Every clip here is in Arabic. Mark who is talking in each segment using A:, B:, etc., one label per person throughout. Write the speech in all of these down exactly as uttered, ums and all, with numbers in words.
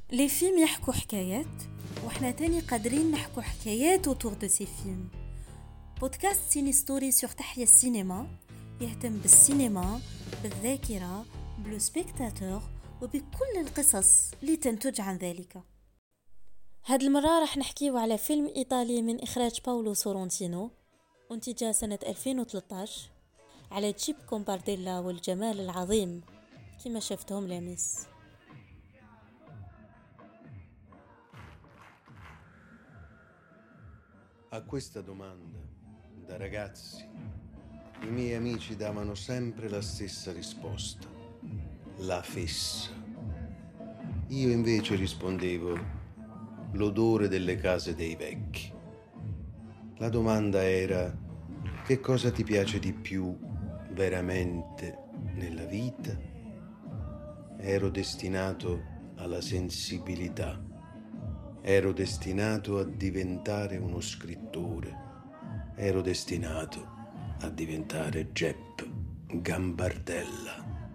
A: لي فيلم يحكوا حكايات وحنا تاني قادرين نحكوا حكايات autour de ces films. بودكاست سيني ستوري سور تحيا السينما يهتم بالسينما، بالذاكرة، بالسبيكتاتور وبكل القصص اللي تنتج عن ذلك. هاد المرة راح نحكيو على فيلم إيطالي من إخراج باولو سورونتينو وانتجاه سنة ألفين وثلاثة عشر على جيب كومبارديلا والجمال العظيم كما شفتهم لامس.
B: A questa domanda, da ragazzi, i miei amici davano sempre la stessa risposta: la fessa. Io invece rispondevo: l'odore delle case dei vecchi. La domanda era: che cosa ti piace di più veramente nella vita? Ero destinato alla sensibilità. Ero destinato a diventare uno scrittore. Ero destinato a diventare Jep Gambardella.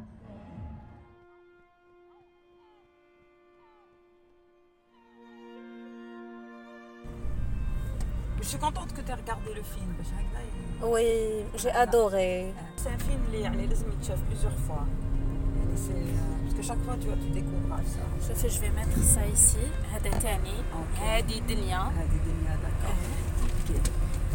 C: Je suis contente que tu aies regardé le film.
A: Oui, j'ai adoré.
C: C'est un film qui est plusieurs fois. Parce que chaque fois tu, tu découvres ça.
A: شوفي je vais mettre ça ici. هذا تاني. هذه دنيا.
C: هذه دنيا داكور.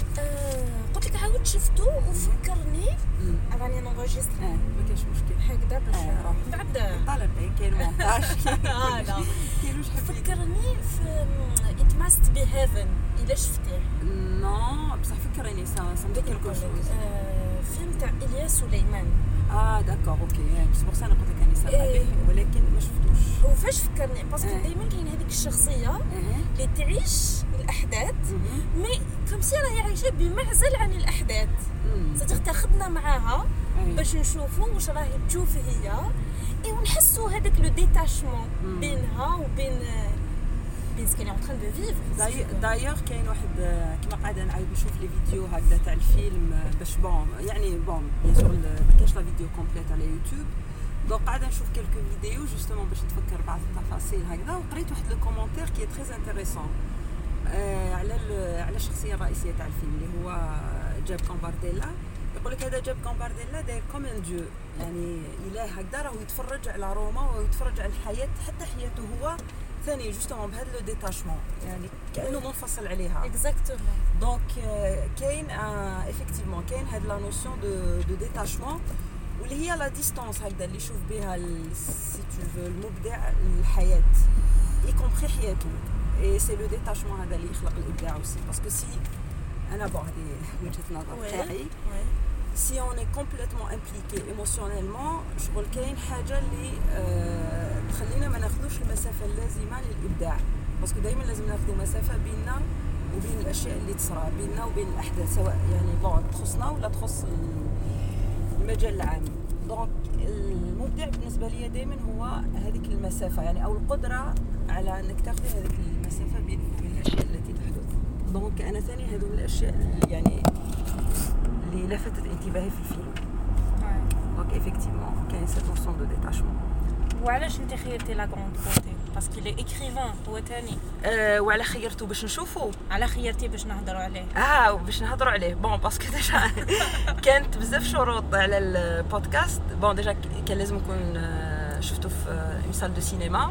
A: قلت لك عاود شفتو وفكرني راني نونجستر.
C: اه ما كاينش مشكل.
A: هكذا باش نروح. بعد
C: طالب كاين مونتاج.
A: اه لا.
C: كاين واش حبيت.
A: فكرني في It Must Be Heaven. إلا شفتيه.
C: نو بصح فكريني سا سا مدي كيلكو شوز.
A: فيلم تاع إلياس سليمان.
C: اه داكور اوكي بس بور سا انا قلت لك اني سامعه به ولكن ما شفتوش.
A: وفاش فكرني باسكو دائما كاين هذيك الشخصيه اللي تعيش الاحداث مي كم سي راهي عايشه بمعزل عن الاحداث. صدق تاخذنا معاها باش نشوفوا واش راهي تشوف هي اي ونحسوا هذاك لو ديتاشمون بينها وبين بين سكيني اون تران دو فيفر.
C: دايوغ كاين واحد كيما قاعده نعاود نشوف لي فيديو هكذا تاع الفيلم باش بون يعني بون بيان سور ما كاينش لا فيديو كومبليت على يوتيوب دونك قاعده نشوف كلكو فيديو جوستومون باش نتفكر بعض التفاصيل هكذا وقريت واحد لو كومونتير كي تري انتريسون على على الشخصيه الرئيسيه تاع الفيلم اللي هو جاب كومبارديلا. يقول لك هذا جاب كومبارديلا داير كوم ان ديو يعني اله هكذا راهو يتفرج على روما ويتفرج على الحياه حتى حياته هو ثاني جوستومون بهذا لو ديتاشمون يعني كانه منفصل عليها
A: اكزاكتومون.
C: دونك كاين افيكتيفمون كاين هاد لا نوسيون دو دو ديتاشمون واللي هي لا ديستانس هكذا اللي يشوف بها سي تو فو المبدع الحياه اي كومبري حياته اي سي لو ديتاشمون هذا اللي يخلق الابداع aussi باسكو سي انا بون هذه وجهه نظر تاعي si on est complètement impliqué émotionnellement شغل كاين حاجه اللي أه تخلينا ما ناخذوش المسافه اللازمه للابداع باسكو دائما لازم ناخذوا مسافه بيننا وبين الاشياء اللي تصرى بيننا وبين الاحداث سواء يعني بون تخصنا ولا تخص المجال العام. دونك المبدع بالنسبه لي دائما هو هذيك المسافه يعني او القدره على انك تاخذ هذيك المسافه بين الاشياء التي تحدث. دونك انا ثاني هذو من الاشياء يعني اللي لفتت انتباهي في الفيلم. دونك ايفيكتيفمون كاين سيت نوسيون دو ديتاشمون.
A: وعلاش انت خيرتي لا غروند بوتي باسكو لي ايكريفان هو ثاني
C: أه وعلى خيرته باش نشوفو
A: على خيرتي باش نهضروا عليه
C: اه باش نهضروا عليه بون باسكو ديجا كانت بزاف شروط على البودكاست. بون ديجا كان لازم نكون شفتو في اون سال دو سينما.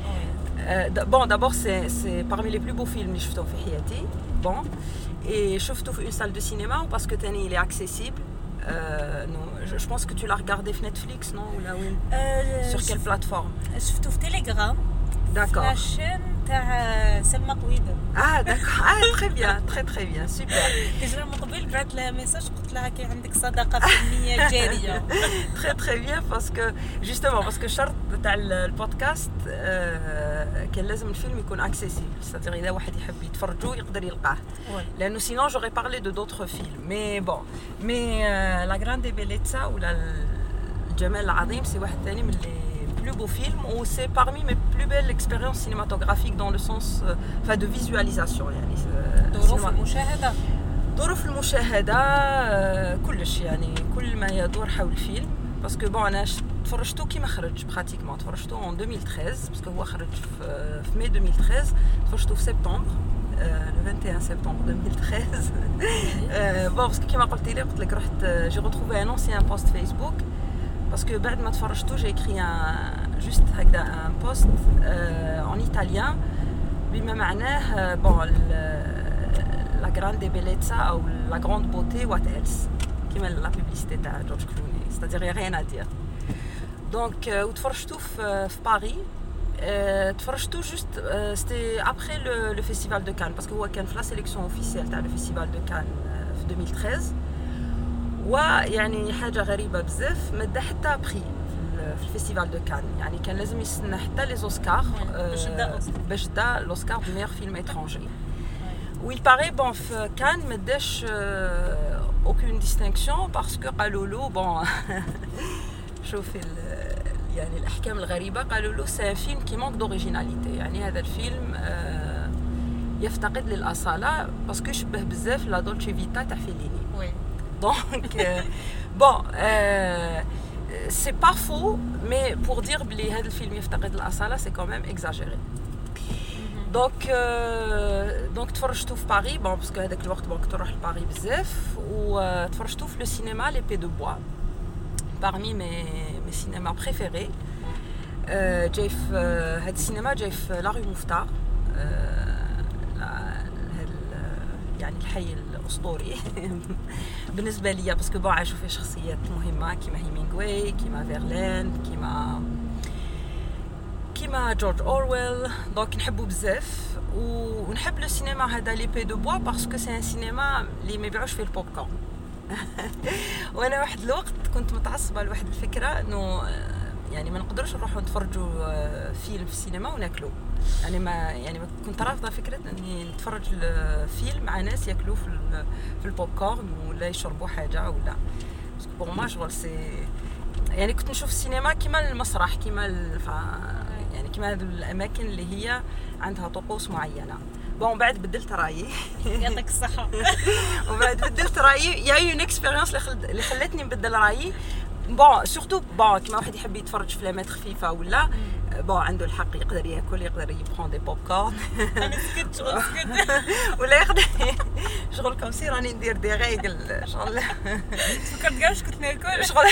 C: بون دابور سي سي parmi les plus beaux films اللي شفتهم في حياتي. بون et شفتو في une salle de cinéma parce que تاني il est accessible. Euh, non, je, je pense que tu l'as regardé sur Netflix, non ou là oui. Euh, sur quelle plateforme?
A: شفتو في Telegram.
C: D'accord.
A: La chaîne تاع سلمى قويدة.
C: Ah d'accord. Ah très bien, très très bien, super.
A: كجرا من قبل بعثت لها ميساج قلت لها كي عندك صداقة فنية جارية.
C: Très très bien parce que justement parce que شرط تاع البودكاست كان لازم الفيلم يكون accessible. C'est-à-dire إذا واحد يحب يتفرجوا يقدر يلقاه. لأنه sinon j'aurais parlé de d'autres films. Mais bon, mais euh, la grande bellezza ولا الجمال العظيم c'est واحد ثاني من اللي plus beau film ou c'est parmi mes plus belles expériences cinématographiques dans le sens euh, enfin de visualisation يعني
A: ظروف المشاهدة
C: ظروف المشاهدة كلش يعني كل ما يدور حول الفيلم باسكو بون انا تفرجتو كيما خرج براتيكمون تفرجتو en deux mille treize باسكو هو خرج في في ماي deux mille treize تفرجتو في سبتمبر le vingt et un septembre deux mille treize bon باسكو كيما قلت لي قلت لك رحت جي retrouvé un ancien post Facebook باسكو بعد ما تفرجتو j'ai écrit un juste هكذا un post en italien بما معناه bon la grande bellezza او la grande beauté what else كيما لا بوبليسيتي تاع جورج كلوني c'est-à-dire y a rien à dire donc وتفرجتو في في باريس تفرجتو جوست c'était après le le festival de Cannes parce que هو كان في لا سيليكسيون اوفيسيال تاع le festival de Cannes في deux mille treize ويعني حاجه غريبه بزاف ما دا حتى بري في الفيستيفال دو كان يعني كان لازم يستنى حتى لي اوسكار باش دا لوسكار دو ميور فيلم étranger ويل باغي بون في كان ما داش aucune distinction parce que قالوا له بون شوفي يعني الاحكام الغريبه قالوا له سي فيلم كي مانك دوريجيناليتي يعني هذا الفيلم يفتقد للاصاله باسكو يشبه بزاف لا دولتشي فيتا تاع فيليني وي دونك بون c'est pas faux mais pour dire بلي هذا الفيلم يفتقد الاصاله c'est quand même exagéré دونك دونك تفرجتو في باريس بون باسكو هذاك الوقت بون كنت نروح لباريس بزاف وتفرجتو في لو سينما لي بي دو بوا parmi mes mes cinémas préférés جاي في هذا السينما جاي في لا رue مفتار يعني الحي الاسطوري بالنسبه ليا باسكو بون عاشوا فيه شخصيات مهمه كيما هيمينغوي كيما فيرلين كيما كيما جورج اورويل دونك نحبو بزاف ونحب لو سينما هذا لي بي دو بوا باسكو سي ان سينما اللي ما يبيعوش فيه البوب كورن وانا واحد الوقت كنت متعصبه لواحد الفكره انه يعني ما نقدروش نروحوا نتفرجوا فيلم في السينما وناكلوا يعني ما يعني كنت رافضه فكره اني نتفرج الفيلم مع ناس ياكلوا في في البوب كورن ولا يشربوا حاجه ولا باسكو بور ما شغل سي يعني كنت نشوف السينما كيما المسرح كيما الف... يعني كيما هذو الاماكن اللي هي عندها طقوس معينه بون بعد بدلت رايي
A: يعطيك الصحه
C: وبعد بدلت رايي يا اون اكسبيريونس اللي خلتني نبدل رايي بون سورتو بون كيما واحد يحب يتفرج فيلمات خفيفه ولا بون عنده الحق يقدر ياكل يقدر يبخون دي بوب كورن
A: انا سكت شغل سكت
C: ولا يقدر شغل كوم سي راني ندير دي ريغل شغل
A: فكرت كاع كنت ناكل
C: شغل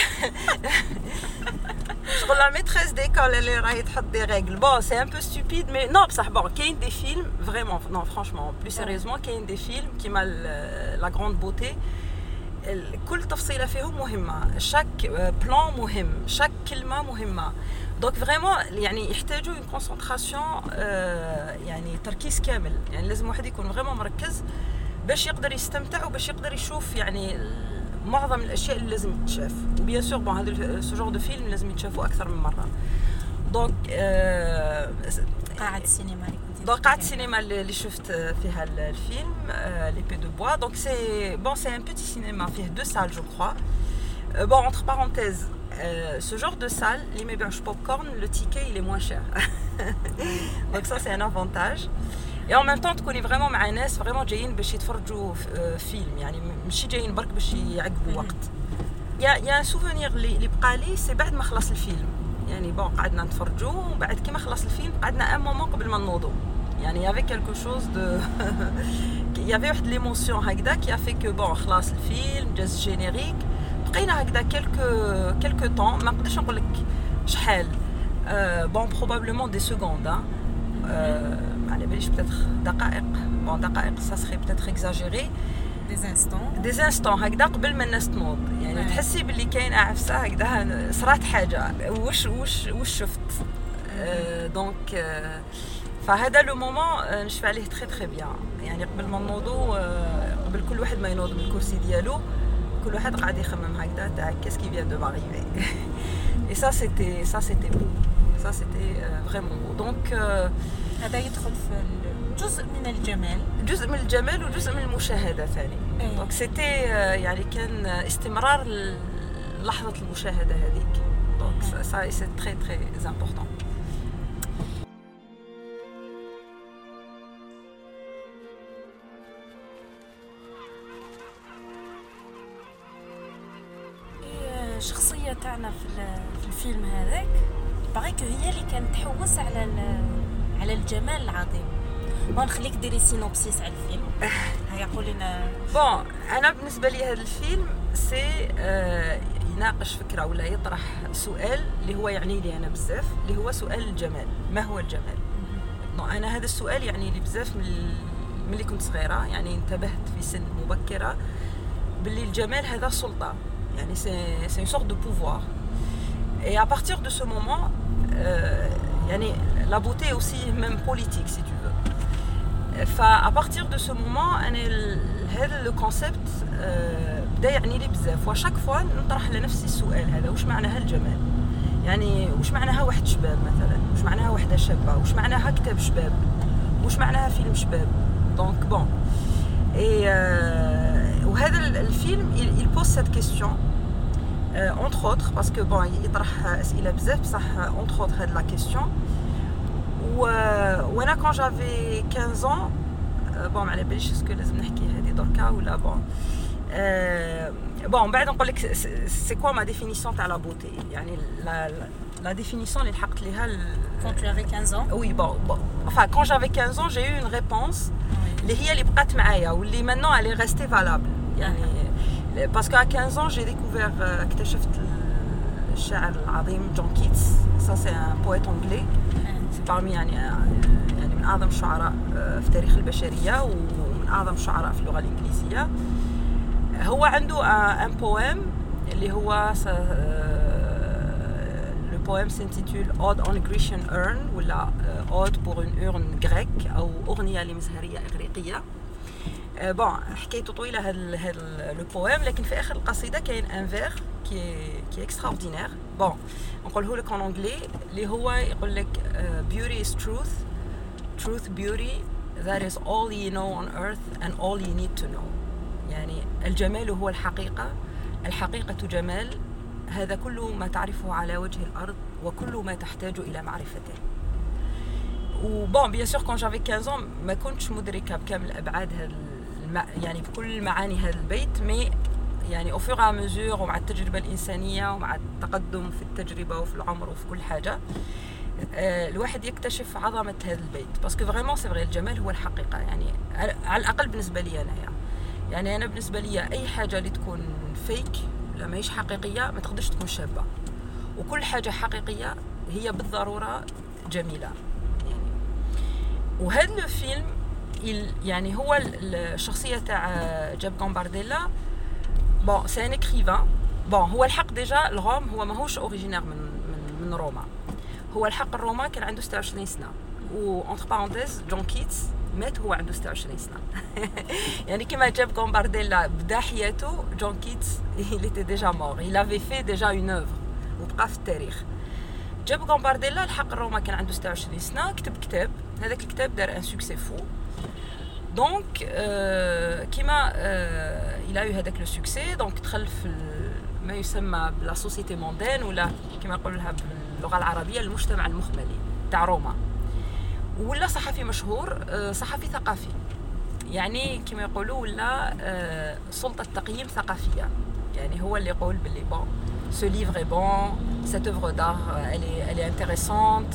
C: شغل لا ميتريس ديكول اللي راهي تحط دي ريغل بون سي ان بو ستوبيد مي نو بصح بون كاين دي فيلم فريمون نو فرانشمون بلو سيريوزمون كاين دي فيلم كيما لا غروند بوتي كل تفصيله فيهم مهمه شاك بلان مهم شاك كلمه مهمه دونك فريمون يعني يحتاجوا اون كونسونطراسيون يعني تركيز كامل يعني لازم واحد يكون فريمون مركز باش يقدر يستمتع وباش يقدر يشوف يعني معظم الاشياء اللي لازم تتشاف وبيان سور بون هذا سو جور دو فيلم لازم يتشافوا اكثر من مره دونك
A: قاعة السينما اللي كنت
C: دونك قاعة السينما اللي شفت فيها الفيلم لي بي دو بوا دونك سي بون سي ان بيتي سينما فيه دو سال جو كروا بون انتر بارونتيز ce genre de salle les ما يبيعوش بوب كورن le ticket il est moins cher donc ça c'est un avantage et en même temps تكوني فريمون مع ناس فريمون جايين باش يتفرجوا فيلم يعني ماشي جايين برك باش يعقبوا وقت يا يا سوفونير اللي بقى لي سي بعد ما خلص الفيلم يعني بون قعدنا نتفرجوا وبعد كيما خلص الفيلم قعدنا ان مومون قبل ما نوضوا يعني يافي كالكو شوز دو يافي واحد ليموسيون هكذا كي افي كو بون خلاص الفيلم جاز جينيريك بقينا هكذا كالكو كالكو طون ما نقدرش نقول لك شحال بون بروبابلمون دي سكوند ما على باليش بتاتر دقائق بون دقائق سا سري بتاتر اكزاجيري
A: دي انستون
C: دي انستون هكذا قبل ما الناس تنوض يعني تحسي باللي كاين عفسه هكذا صرات حاجه واش واش واش شفت دونك فهذا لو مومون نشفع عليه تري تري بيان يعني قبل ما نوضوا قبل كل واحد ما ينوض من الكرسي ديالو كل واحد قاعد يخمم هكذا تاع كيس كي فيان دو ماريفي اي سا سيتي سا سيتي بو سا سيتي فريمون دونك
A: هذا يدخل في جزء من الجمال
C: جزء من الجمال وجزء من المشاهده ثاني دونك سيتي يعني كان استمرار لحظه المشاهده هذيك دونك سا سي تري تري امبورطون
A: الشخصيه تاعنا في في الفيلم هذاك باغيك هي اللي كانت تحوس على على الجمال العظيم. بون نخليك ديري سينوبسيس على الفيلم. هيا قولي لنا.
C: بون انا بالنسبه لي هذا الفيلم سي آه يناقش فكره ولا يطرح سؤال اللي هو يعني لي انا بزاف، اللي هو سؤال الجمال. ما هو الجمال؟ نو انا هذا السؤال يعني لي بزاف من ملي كنت صغيره، يعني انتبهت في سن مبكره باللي الجمال هذا سلطه، يعني سي سي اون سورت دو بوفوار. Et à partir de ce moment, euh, يعني la beauté est aussi même politique si tu veux. فا à partir de ce moment أنا هذا لو كونسيبت بدا يعني لي بزاف، وشاك فوا نطرح لنفسي السؤال هذا: واش معناها الجمال؟ يعني واش معناها واحد شباب مثلا؟ واش معناها وحده شابه؟ واش معناها كتاب شباب؟ واش معناها فيلم شباب؟ دونك بون اي وهذا الفيلم il pose cette question euh, entre autres parce que bon يطرح اسئله بزاف بصح entre autres هاد لا question. و وانا quand j'avais quinze ans بون ما على باليش اسكو لازم نحكي هذه دركا ولا بون بون بعد نقول لك سي كوا ما ديفينيسيون تاع لا بوتي، يعني لا لا ديفينيسيون اللي لحقت ليها
A: quand tu avais quinze ans.
C: oui bon bon enfin quand j'avais quinze ans j'ai eu une réponse اللي هي اللي بقات معايا واللي maintenant elle est restée valable. يعني parce qu'à quinze ans j'ai découvert اكتشفت الشاعر العظيم جون كيتس. ça c'est un poète anglais. c'est parmi يعني يعني من اعظم الشعراء في تاريخ البشريه ومن اعظم الشعراء في اللغه الانجليزيه. هو عنده ان بويم اللي هو لو بويم s'intitule Ode on a Grecian urn ولا Ode pour une urne grecque او اغنيه لمزهريه اغريقيه. بون حكايته طويله هذا هذا لو بويم، لكن في اخر القصيده كاين ان فير كي كي اكستراوردينير. بون نقوله لك ان انجلي اللي هو يقول لك beauty is truth truth beauty that is all you know on earth and all you need to know. يعني الجمال هو الحقيقه، الحقيقه جمال، هذا كل ما تعرفه على وجه الارض وكل ما تحتاج الى معرفته. وبون بيان سور كون جافي quinze ans ما كنتش مدركه بكامل ابعاد هذا يعني بكل معاني هذا البيت، مي يعني au fur et à mesure ومع التجربة الإنسانية ومع التقدم في التجربة وفي العمر وفي كل حاجة الواحد يكتشف عظمة هذا البيت. باسكو فريمون سي فري الجمال هو الحقيقة، يعني على الأقل بالنسبة لي أنا. يعني أنا بالنسبة لي أي حاجة اللي تكون فيك لا ماهيش حقيقية ما تقدرش تكون شابة، وكل حاجة حقيقية هي بالضرورة جميلة. يعني وهذا الفيلم يعني هو الشخصيه تاع جاب غامبارديلا. بون سي ان اكريفان. بون هو الحق ديجا الروم هو ماهوش اوريجينير من من من روما، هو الحق الروما كان عنده ستة وعشرين سنه، و اونتر بارونتيز جون كيتس مات هو عنده ستة وعشرين سنه. يعني كما جاب غامبارديلا بدا حياته، جون كيتس il était déjà mort, il avait fait déjà une œuvre وبقى في التاريخ. جاب غامبارديلا الحق الروما كان عنده ستة وعشرين سنه، كتب كتاب، هذاك الكتاب دار ان سوكسي فو. دونك كيما الى يو هذاك لو سوكسي، دونك دخل في ما يسمى بلا سوسيتي موندين ولا كيما نقولوا لها باللغه العربيه المجتمع المخملي تاع روما، ولا صحفي مشهور، صحفي ثقافي، يعني كيما يقولوا ولا سلطه تقييم ثقافيه. يعني هو اللي يقول باللي بون ce livre est bon, cette œuvre d'art elle est elle est intéressante.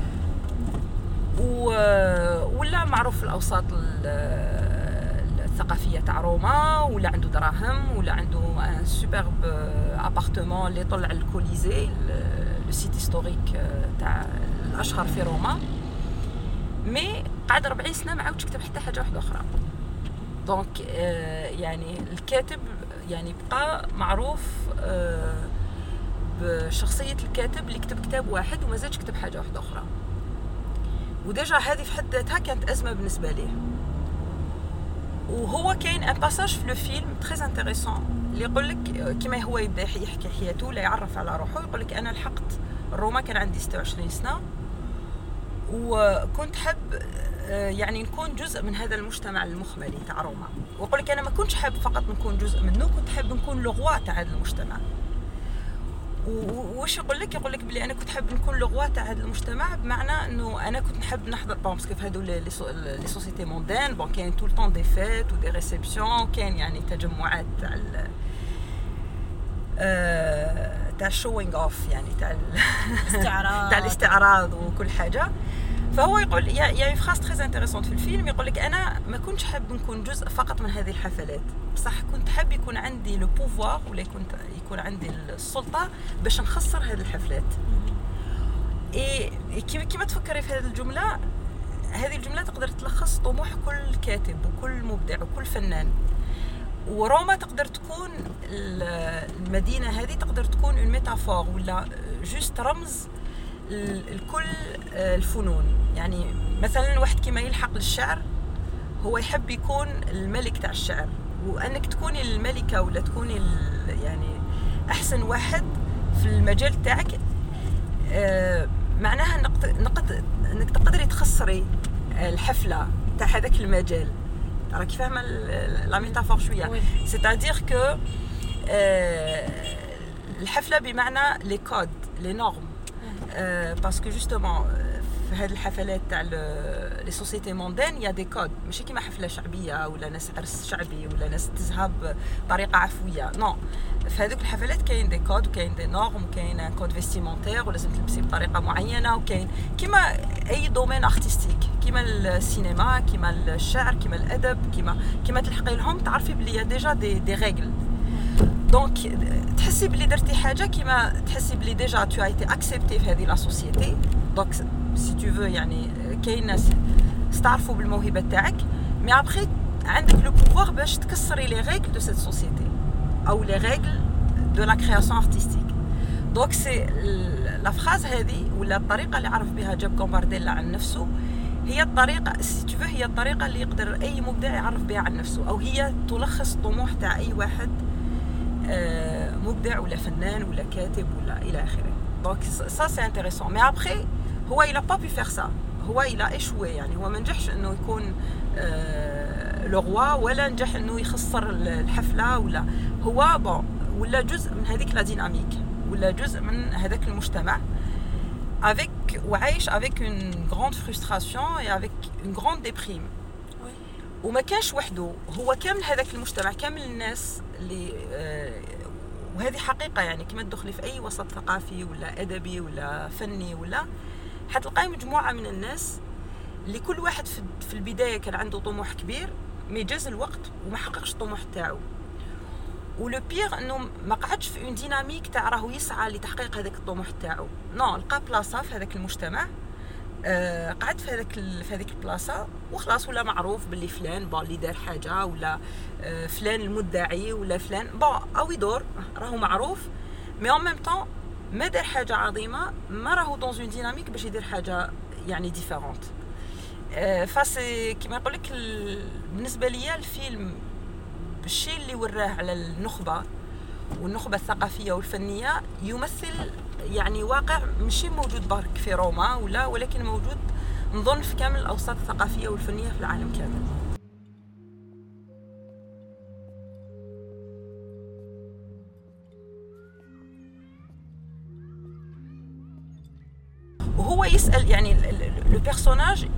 C: ولا معروف في الاوساط الثقافيه تاع روما، ولا عنده دراهم، ولا عنده ان سوبرب ابارتمون اللي يطلع الكوليزي لو سيت هيستوريك تاع الاشهر في روما. مي قعد أربعين سنه ما عاودش كتب حتى حاجه واحده اخرى. دونك يعني الكاتب يعني بقى معروف بشخصيه الكاتب اللي كتب كتاب واحد وما زادش كتب حاجه واحده اخرى. وديجا هذه في حد ذاتها كانت ازمه بالنسبه ليه. وهو كاين ان باساج في لو فيلم تري انتريسون اللي يقول لك كيما هو يبدا يحكي حياته ولا يعرف على روحه، يقول لك انا لحقت روما كان عندي ستة وعشرين سنه، وكنت حب يعني نكون جزء من هذا المجتمع المخملي تاع روما. ويقول لك انا ما كنتش حاب فقط نكون جزء منه، كنت حاب نكون لغوا تاع هذا المجتمع. وواش يقول لك يقول لك بلي انا كنت حاب نكون لغوا تاع هذا المجتمع، بمعنى انه انا كنت نحب نحضر بون باسكو في هذو لي سوسيتي موندين بون كاين طول طون دي فيت ودي ريسبسيون، كاين يعني تجمعات تاع تاع شوينغ اوف يعني تاع
A: الاستعراض
C: تاع الاستعراض وكل حاجه. فهو يقول يا يا فراس تري انتريسونت في الفيلم، يقول لك انا ما كنتش حاب نكون جزء فقط من هذه الحفلات، بصح كنت حاب يكون عندي لو بوفوار ولا كنت يكون عندي السلطه باش نخسر هذه الحفلات. اي كيما تفكري في هذه الجمله، هذه الجمله تقدر تلخص طموح كل كاتب وكل مبدع وكل فنان. وروما تقدر تكون المدينه هذه تقدر تكون اون ميتافور ولا جوست رمز لكل الفنون. يعني مثلا واحد كيما يلحق للشعر هو يحب يكون الملك تاع الشعر، وانك تكوني الملكه ولا تكوني يعني احسن واحد في المجال تاعك آه معناها نقد انك تقدري تخسري الحفله تاع هذاك المجال. راكي فاهمه لا ميتافور شويه؟ سيتادير كو الحفله بمعنى لي كود لي نورم، باسكو جوستومون في هذه الحفلات تاع لي سوسيتي موندين يا دي كود، ماشي كيما حفله شعبيه ولا ناس عرس شعبي ولا ناس تزهب بطريقه عفويه. نو، في هذوك الحفلات كاين دي كود وكاين دي نورم وكاين ان كود فيستيمونتير ولازم تلبسي بطريقه معينه، وكاين كيما اي دومين ارتستيك كيما السينما كيما الشعر كيما الادب كيما كيما تلحقي لهم تعرفي بلي ديجا دي دي ريغل. دونك تحسي بلي درتي حاجه كيما تحسي بلي ديجا تو ايتي اكسبتي في هذه لا سوسيتي. دونك سي تو فو يعني كاين ناس استعرفوا بالموهبه تاعك، مي ابري عندك لو بوفوار باش تكسري لي ريغل دو سيت سوسيتي او لي ريغل دو لا كرياسيون ارتستيك. دونك سي لا فراز هذه ولا الطريقه اللي عرف بها جاب كومبارديلا عن نفسه هي الطريقه سي تو فو هي الطريقه اللي يقدر اي مبدع يعرف بها عن نفسه، او هي تلخص الطموح تاع اي واحد مبدع ولا فنان ولا كاتب ولا الى اخره. دونك سا سي انتريسون. مي ابري هو il a pas pu faire ça، هو il a échoué، يعني هو ما نجحش انه يكون لو روا ولا نجح انه يخسر الحفله، ولا هو بون ولا جزء من هذيك لا ديناميك ولا جزء من هذاك المجتمع avec وعايش avec une grande frustration et avec une grande déprime. وما كانش وحده، هو كامل هذاك المجتمع كامل الناس اللي آه وهذه حقيقه يعني كما تدخلي في اي وسط ثقافي ولا ادبي ولا فني ولا حتلقاي مجموعه من الناس اللي كل واحد في البدايه كان عنده طموح كبير مي جاز الوقت وما حققش الطموح تاعو. ولو بيغ انه ما قعدش في اون ديناميك تاع راهو يسعى لتحقيق هذاك الطموح تاعو. نو، لقى بلاصه في هذاك المجتمع، آه قعد في هذاك في هذيك البلاصه وخلاص، ولا معروف باللي فلان بون اللي دار حاجه، ولا آه فلان المدعي، ولا فلان بون او يدور راهو معروف، مي اون ميم طون ما دار حاجه عظيمه، ما راهو دون اون ديناميك باش يدير حاجه يعني ديفيرونت. آه فاسي كيما يقول لك بالنسبه ليا الفيلم الشيء اللي وراه على النخبه والنخبه الثقافيه والفنيه يمثل يعني واقع ماشي موجود برك في روما ولا، ولكن موجود نظن في كامل الاوساط الثقافيه والفنيه في العالم كامل. وهو يسال يعني لو بيرسوناج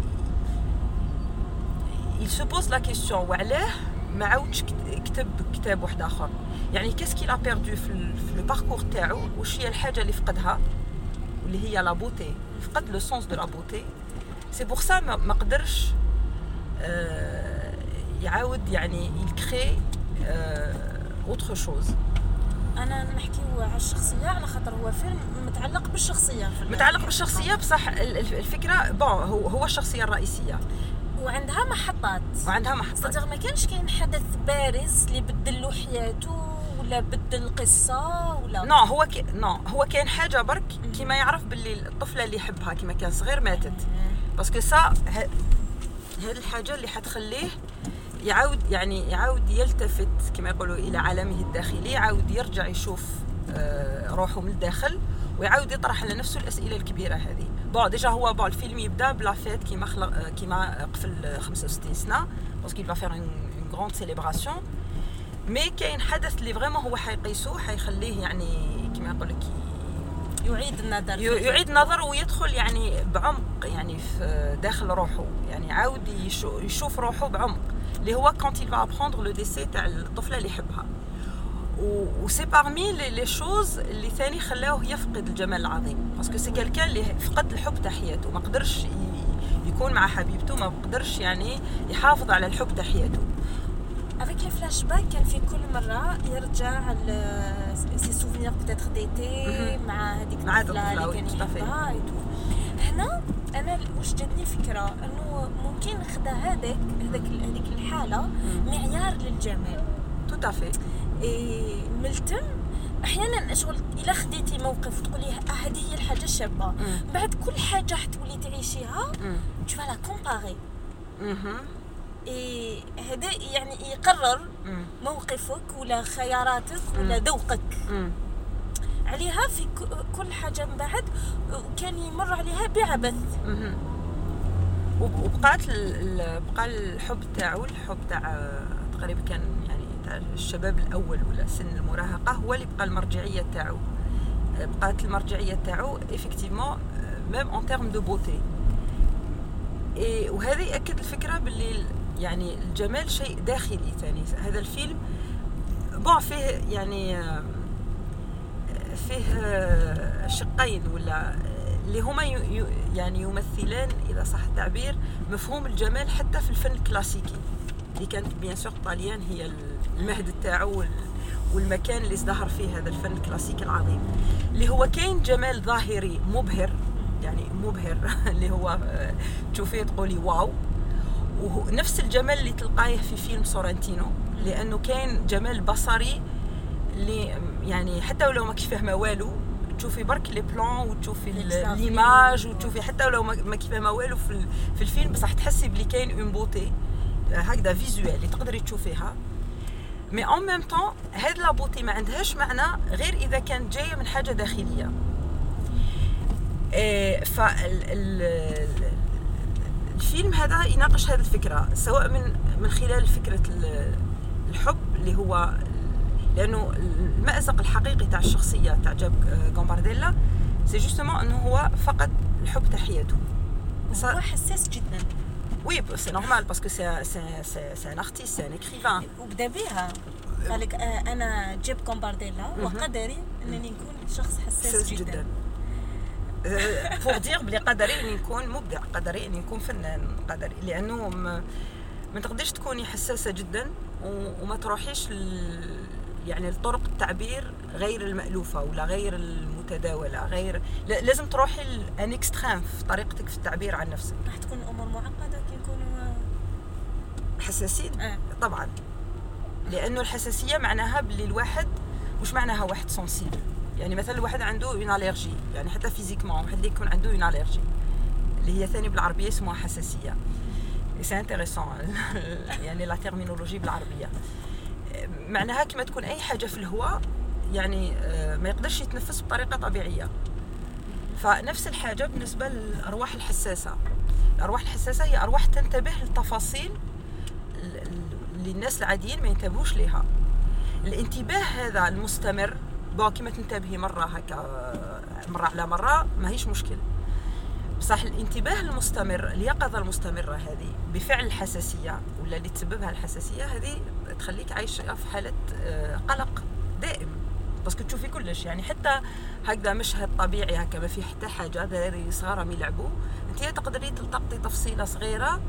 C: il se pose la question وعلاه ما عاودش كتب كتاب واحد اخر، يعني كاسكي لا بيردو في لو باركور تاعو، واش هي الحاجه اللي فقدها واللي هي لا بوتي، فقد لو سونس دو لا بوتي. سي بور سا ما قدرش آه يعاود يعني يكري اوتر شوز.
A: انا نحكيو على الشخصيه على خاطر هو فيلم متعلق بالشخصيه،
C: متعلق بالشخصيه بصح الفكره بون هو هو الشخصيه الرئيسيه
A: وعندها محطات
C: وعندها محطات
A: صدق ما كانش كاين حدث بارز اللي بدل له حياته ولا بدل القصه ولا
C: نو هو كي... نو هو كاين حاجه برك كيما يعرف باللي الطفله اللي يحبها كيما كان صغير ماتت، باسكو سا ه... هذه الحاجه اللي حتخليه يعاود يعني يعاود يلتفت كما يقولوا الى عالمه الداخلي، يعاود يرجع يشوف آه روحه من الداخل ويعاود يطرح على نفسه الاسئله الكبيره هذه. بون ديجا هو بون الفيلم يبدا بلا فيت كيما خلق كيما قفل خمسة وستين سنه باسكو يبغى فير اون غراند سيليبراسيون، مي كاين حدث اللي فريمون هو حيقيسو حيخليه يعني كيما يقول لك
A: يعيد النظر
C: يعيد النظر ويدخل يعني بعمق يعني في داخل روحه، يعني عاود يشوف روحه بعمق اللي هو كونت يل فا ابروندر لو ديسي تاع الطفله اللي يحبها. وسي بارمي لي شوز اللي ثاني خلاوه يفقد الجمال العظيم، باسكو سي كالكان اللي فقد الحب تاع حياته، ما قدرش يكون مع حبيبته، ما قدرش يعني يحافظ على الحب تاع حياته.
A: افيك لي فلاش باك كان في كل مره يرجع سي سوفينير بوتيتر ديتي مع هذيك الطفله اللي كان يحبها. هنا انا واش جاتني فكره انه ممكن خدا هذاك هذاك هذيك الحاله معيار للجمال.
C: تو تافي.
A: اي ملتم احيانا شغل الا خديتي موقف وتقولي هذه هي الحاجه الشابه، بعد كل حاجه حتولي تعيشيها tu vas la comparer. اي هذا يعني يقرر موقفك ولا خياراتك ولا ذوقك عليها في كل حاجه. من بعد كان يمر عليها بعبث،
C: وبقات بقى الحب تاعو الحب تاع تقريبا كان يعني تاع الشباب الاول ولا سن المراهقه هو اللي بقى المرجعيه تاعو. بقات المرجعيه تاعو ايفيكتيفمون ميم اون تيرم دو بوتي. اي وهذا ياكد الفكره باللي يعني الجمال شيء داخلي ثاني. هذا الفيلم بون فيه يعني فيه شقين ولا اللي هما يعني يمثلان اذا صح التعبير مفهوم الجمال حتى في الفن الكلاسيكي اللي كانت بيان سور طاليان هي المهد تاعو والمكان اللي ازدهر فيه هذا الفن الكلاسيكي العظيم، اللي هو كاين جمال ظاهري مبهر يعني مبهر اللي هو تشوفيه تقولي واو، ونفس الجمال اللي تلقاه في فيلم سورنتينو، لانه كاين جمال بصري اللي يعني حتى ولو ما كيف فاهمه والو تشوفي برك لي بلان وتشوفي ليماج وتشوفي حتى ولو ما كيف فاهمه والو في في الفيلم، بصح تحسي بلي كاين اون بوتي هكذا فيزوال اللي تقدري تشوفيها. مي اون ميم طون هاد لا بوتي ما عندهاش معنى غير اذا كانت جايه من حاجه داخليه. إيه ف الفيلم هذا يناقش هذه الفكره سواء من من خلال فكره الحب اللي هو لانه المأزق الحقيقي تاع الشخصيه تاع جاب غامبارديلا سي جوستومون انه هو فقد الحب تاع حياته.
A: هو حساس جدا.
C: وي سي نورمال باسكو سي سي سي سي ان ارتيست سي ان اكريفان.
A: وبدا بها قال لك انا جاب غامبارديلا وقدري انني نكون شخص حساس جدا, جداً.
C: فور دير بلي قدري اني نكون مبدع، قدري اني نكون فنان، قدري لانه ما, ما تقدرش تكوني حساسه جدا وما تروحيش يعني لطرق التعبير غير المألوفه ولا غير المتداوله، غير لازم تروحي ان اكستريم في طريقتك في التعبير عن نفسك.
A: راح تكون الامور معقده كي نكونوا
C: حساسين
A: آه.
C: طبعا، لانه الحساسيه معناها باللي الواحد وش معناها واحد سنسيبل. يعني مثلا الواحد عنده اون اليرجي، يعني حتى فيزيكمون واحد اللي يكون عنده اون اليرجي اللي هي ثاني بالعربيه اسمها حساسيه. سي انتريسون يعني لا تيرمينولوجي بالعربيه معناها كما تكون اي حاجه في الهواء يعني ما يقدرش يتنفس بطريقه طبيعيه. فنفس الحاجه بالنسبه للارواح الحساسه. الارواح الحساسه هي ارواح تنتبه للتفاصيل اللي الناس العاديين ما ينتبهوش ليها. الانتباه هذا المستمر بون كيما تنتبهي مره هكا مره على مره ما هيش مشكل، بصح الانتباه المستمر اليقظه المستمره هذه بفعل الحساسيه ولا اللي تسببها الحساسيه هذه تخليك عايشه في حاله قلق دائم، باسكو تشوفي كلش يعني حتى هكذا مشهد طبيعي هكا ما فيه حتى حاجه دراري صغار يلعبوا انت تقدري تلتقطي تفصيله صغيره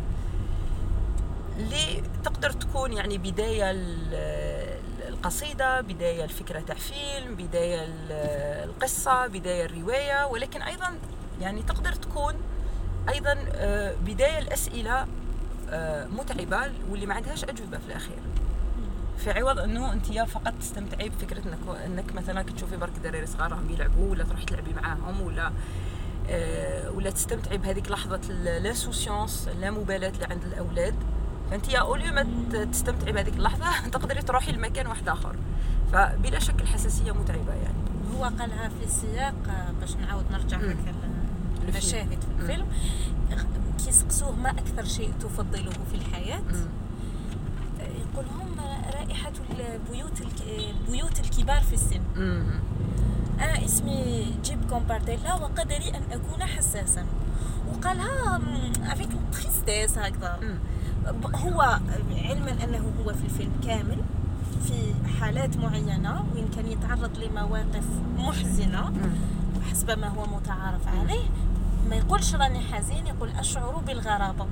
C: اللي تقدر تكون يعني بدايه القصيدة، بداية الفكرة تاع فيلم، بداية القصة، بداية الرواية، ولكن أيضا يعني تقدر تكون أيضا بداية الأسئلة متعبة واللي ما عندهاش أجوبة في الأخير، في عوض أنه أنت فقط تستمتعي بفكرة أنك, أنك مثلا كتشوفي برك دراري صغار هم يلعبوا ولا تروحي تلعبي معاهم ولا ولا تستمتعي بهذيك لحظة الانسوسيونس اللامبالاة اللي عند الأولاد. فانت يا اوليو ما تستمتعي بهذيك اللحظه تقدري تروحي لمكان واحد اخر. فبلا شك الحساسيه متعبه يعني.
A: هو قالها في السياق باش نعاود نرجع هكا المشاهد في الفيلم كي سقسوه ما اكثر شيء تفضله في الحياه يقول لهم رائحه البيوت البيوت الكبار في السن. انا اسمي جيب غامبارديلا وقدري ان اكون حساسا، وقالها افيك تريستيس هكذا. هو علما انه هو في الفيلم كامل في حالات معينة وين كان يتعرض لمواقف محزنة حسب ما هو متعارف عليه ما يقولش راني حزين، يقول أشعر بالغرابة.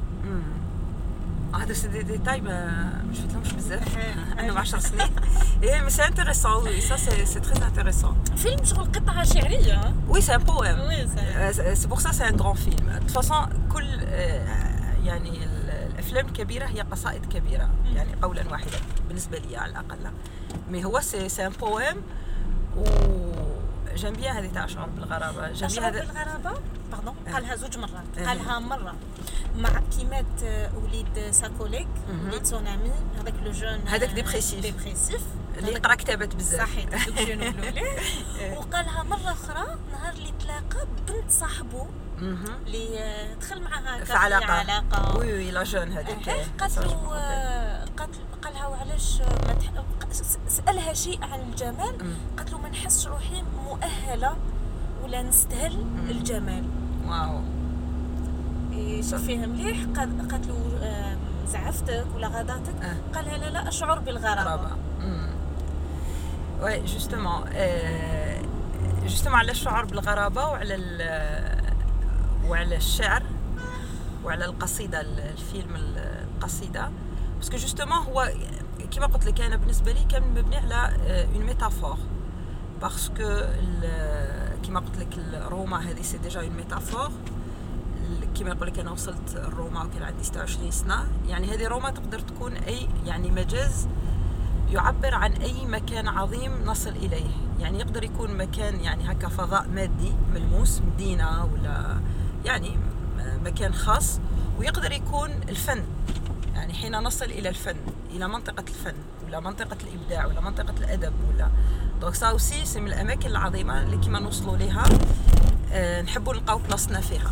C: هذا سي دي ديتاي ما مش فهمتهمش بزاف انا ب عشر سنين. ايه مي سي انتريسون، وي سا سي سي تري انتريسون.
A: فيلم شغل قطعة شعرية.
C: وي سي ان بويم.
A: وي
C: سي بور سا سي ان غران فيلم. دو فاصون كل يعني الافلام الكبيرة هي قصائد كبيرة، يعني قولا واحدا بالنسبة لي على الاقل. مي هو سي سي ان بويم و جيم بيان هذه تاع أشعر بالغرابة.
A: جيم بيان هذا بالغرابة باردون قالها زوج مرات. قالها مرة مع كيمات وليد ساكوليك وليد سونامي هذاك لو جون
C: هذاك ديبريسيف
A: ديبريسيف
C: اللي يقرا كتابات بزاف.
A: صحيح دوك شنو نقولوا ليه. وقالها مرة أخرى نهار اللي تلاقى بنت صاحبه اللي دخل معها
C: في علاقة.
A: علاقة
C: وي وي لا جون هذيك
A: قالت له قالت قالها وعلاش ما تح... سألها شيء عن الجمال. قالت له ما نحسش روحي مؤهلة ولا نستاهل الجمال.
C: واو
A: شوفيها مليح. قالت له زعفتك ولا غضاتك؟
C: أه.
A: قالها لا لا أشعر بالغرابة.
C: وي جوستومون جوستومون على الشعور بالغرابة وعلى وعلى الشعر وعلى القصيدة الفيلم القصيدة باسكو جوستومون هو كما قلت لك انا بالنسبه لي كان مبني على اون ميتافور باسكو كما قلت لك روما هذه سي ديجا اون ميتافور. كما يقول لك انا وصلت روما وكان عندي ستة وعشرين سنه، يعني هذه روما تقدر تكون اي يعني مجاز يعبر عن اي مكان عظيم نصل اليه. يعني يقدر يكون مكان يعني هكا فضاء مادي ملموس، مدينه ولا يعني مكان خاص، ويقدر يكون الفن. يعني حين نصل إلى الفن، إلى منطقة الفن ولا منطقة الإبداع ولا منطقة الأدب ولا دونك سا أوسي سي من الأماكن العظيمة اللي كيما نوصلوا ليها أه نحبوا نلقاو بلاصتنا فيها.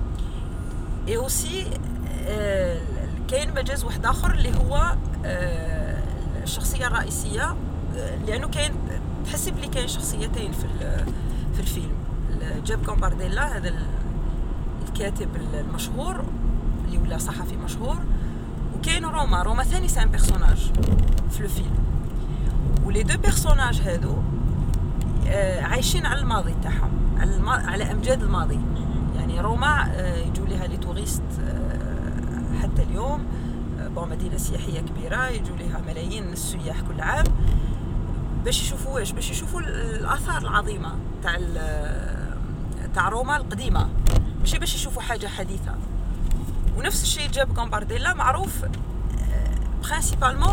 C: إي أوسي أه كاين مجاز واحد آخر اللي هو أه الشخصية الرئيسية، أه لأنه كاين تحسي بلي كاين شخصيتين في في الفيلم. جاب كومبارديلا هذا الكاتب المشهور اللي ولا صحفي مشهور، وكاين روما. روما ثاني سان بيرسوناج في الفيلم، ولي دو بيرسوناج هادو آه عايشين على الماضي تاعهم، على, الم... على امجاد الماضي. يعني روما آه يجوا لها لي توريست آه حتى اليوم، آه بون مدينه سياحيه كبيره يجوا لها ملايين السياح كل عام باش يشوفوا واش باش يشوفوا الاثار العظيمه تاع تاع روما القديمه، ماشي باش يشوفوا حاجه حديثه. ونفس الشيء جاب كومبارديلا معروف برينسيبالمون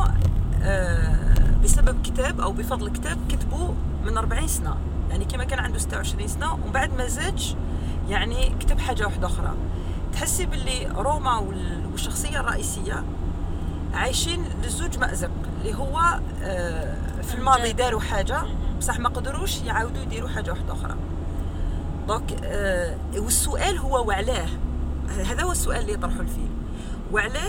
C: بسبب كتاب او بفضل كتاب كتبوه من أربعين سنه، يعني كما كان عنده ستة وعشرين سنه ومن بعد ما زادش يعني كتب حاجه واحده اخرى. تحسي باللي روما والشخصيه الرئيسيه عايشين لزوج مأزق اللي هو في الماضي داروا حاجه بصح ما قدروش يعاودوا يديروا حاجه واحده اخرى. دونك والسؤال هو وعلاه، هذا هو السؤال اللي يطرحه الفيلم، وعلاه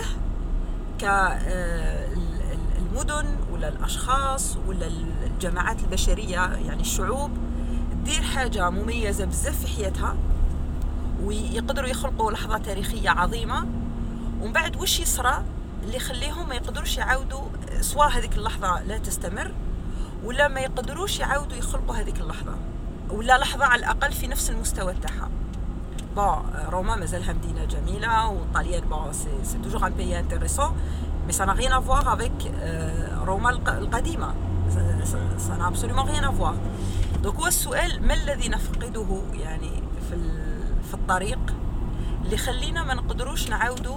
C: كالمدن ولا الأشخاص ولا الجماعات البشرية يعني الشعوب تدير حاجة مميزة بزاف في حياتها ويقدروا يخلقوا لحظة تاريخية عظيمة، ومن بعد وش يصرى اللي يخليهم ما يقدروش يعاودوا سواء هذيك اللحظة لا تستمر ولا ما يقدروش يعاودوا يخلقوا هذيك اللحظة ولا لحظة على الأقل في نفس المستوى تاعها. بون روما مازالها مدينة جميلة والطاليان بون سي سي توجور ان بيي انتريسون مي سا نا ريان افوار افيك روما القديمة، سا نا ابسوليومون ريان افوار. دونك هو السؤال ما الذي نفقده يعني في في الطريق اللي خلينا ما نقدروش نعاودوا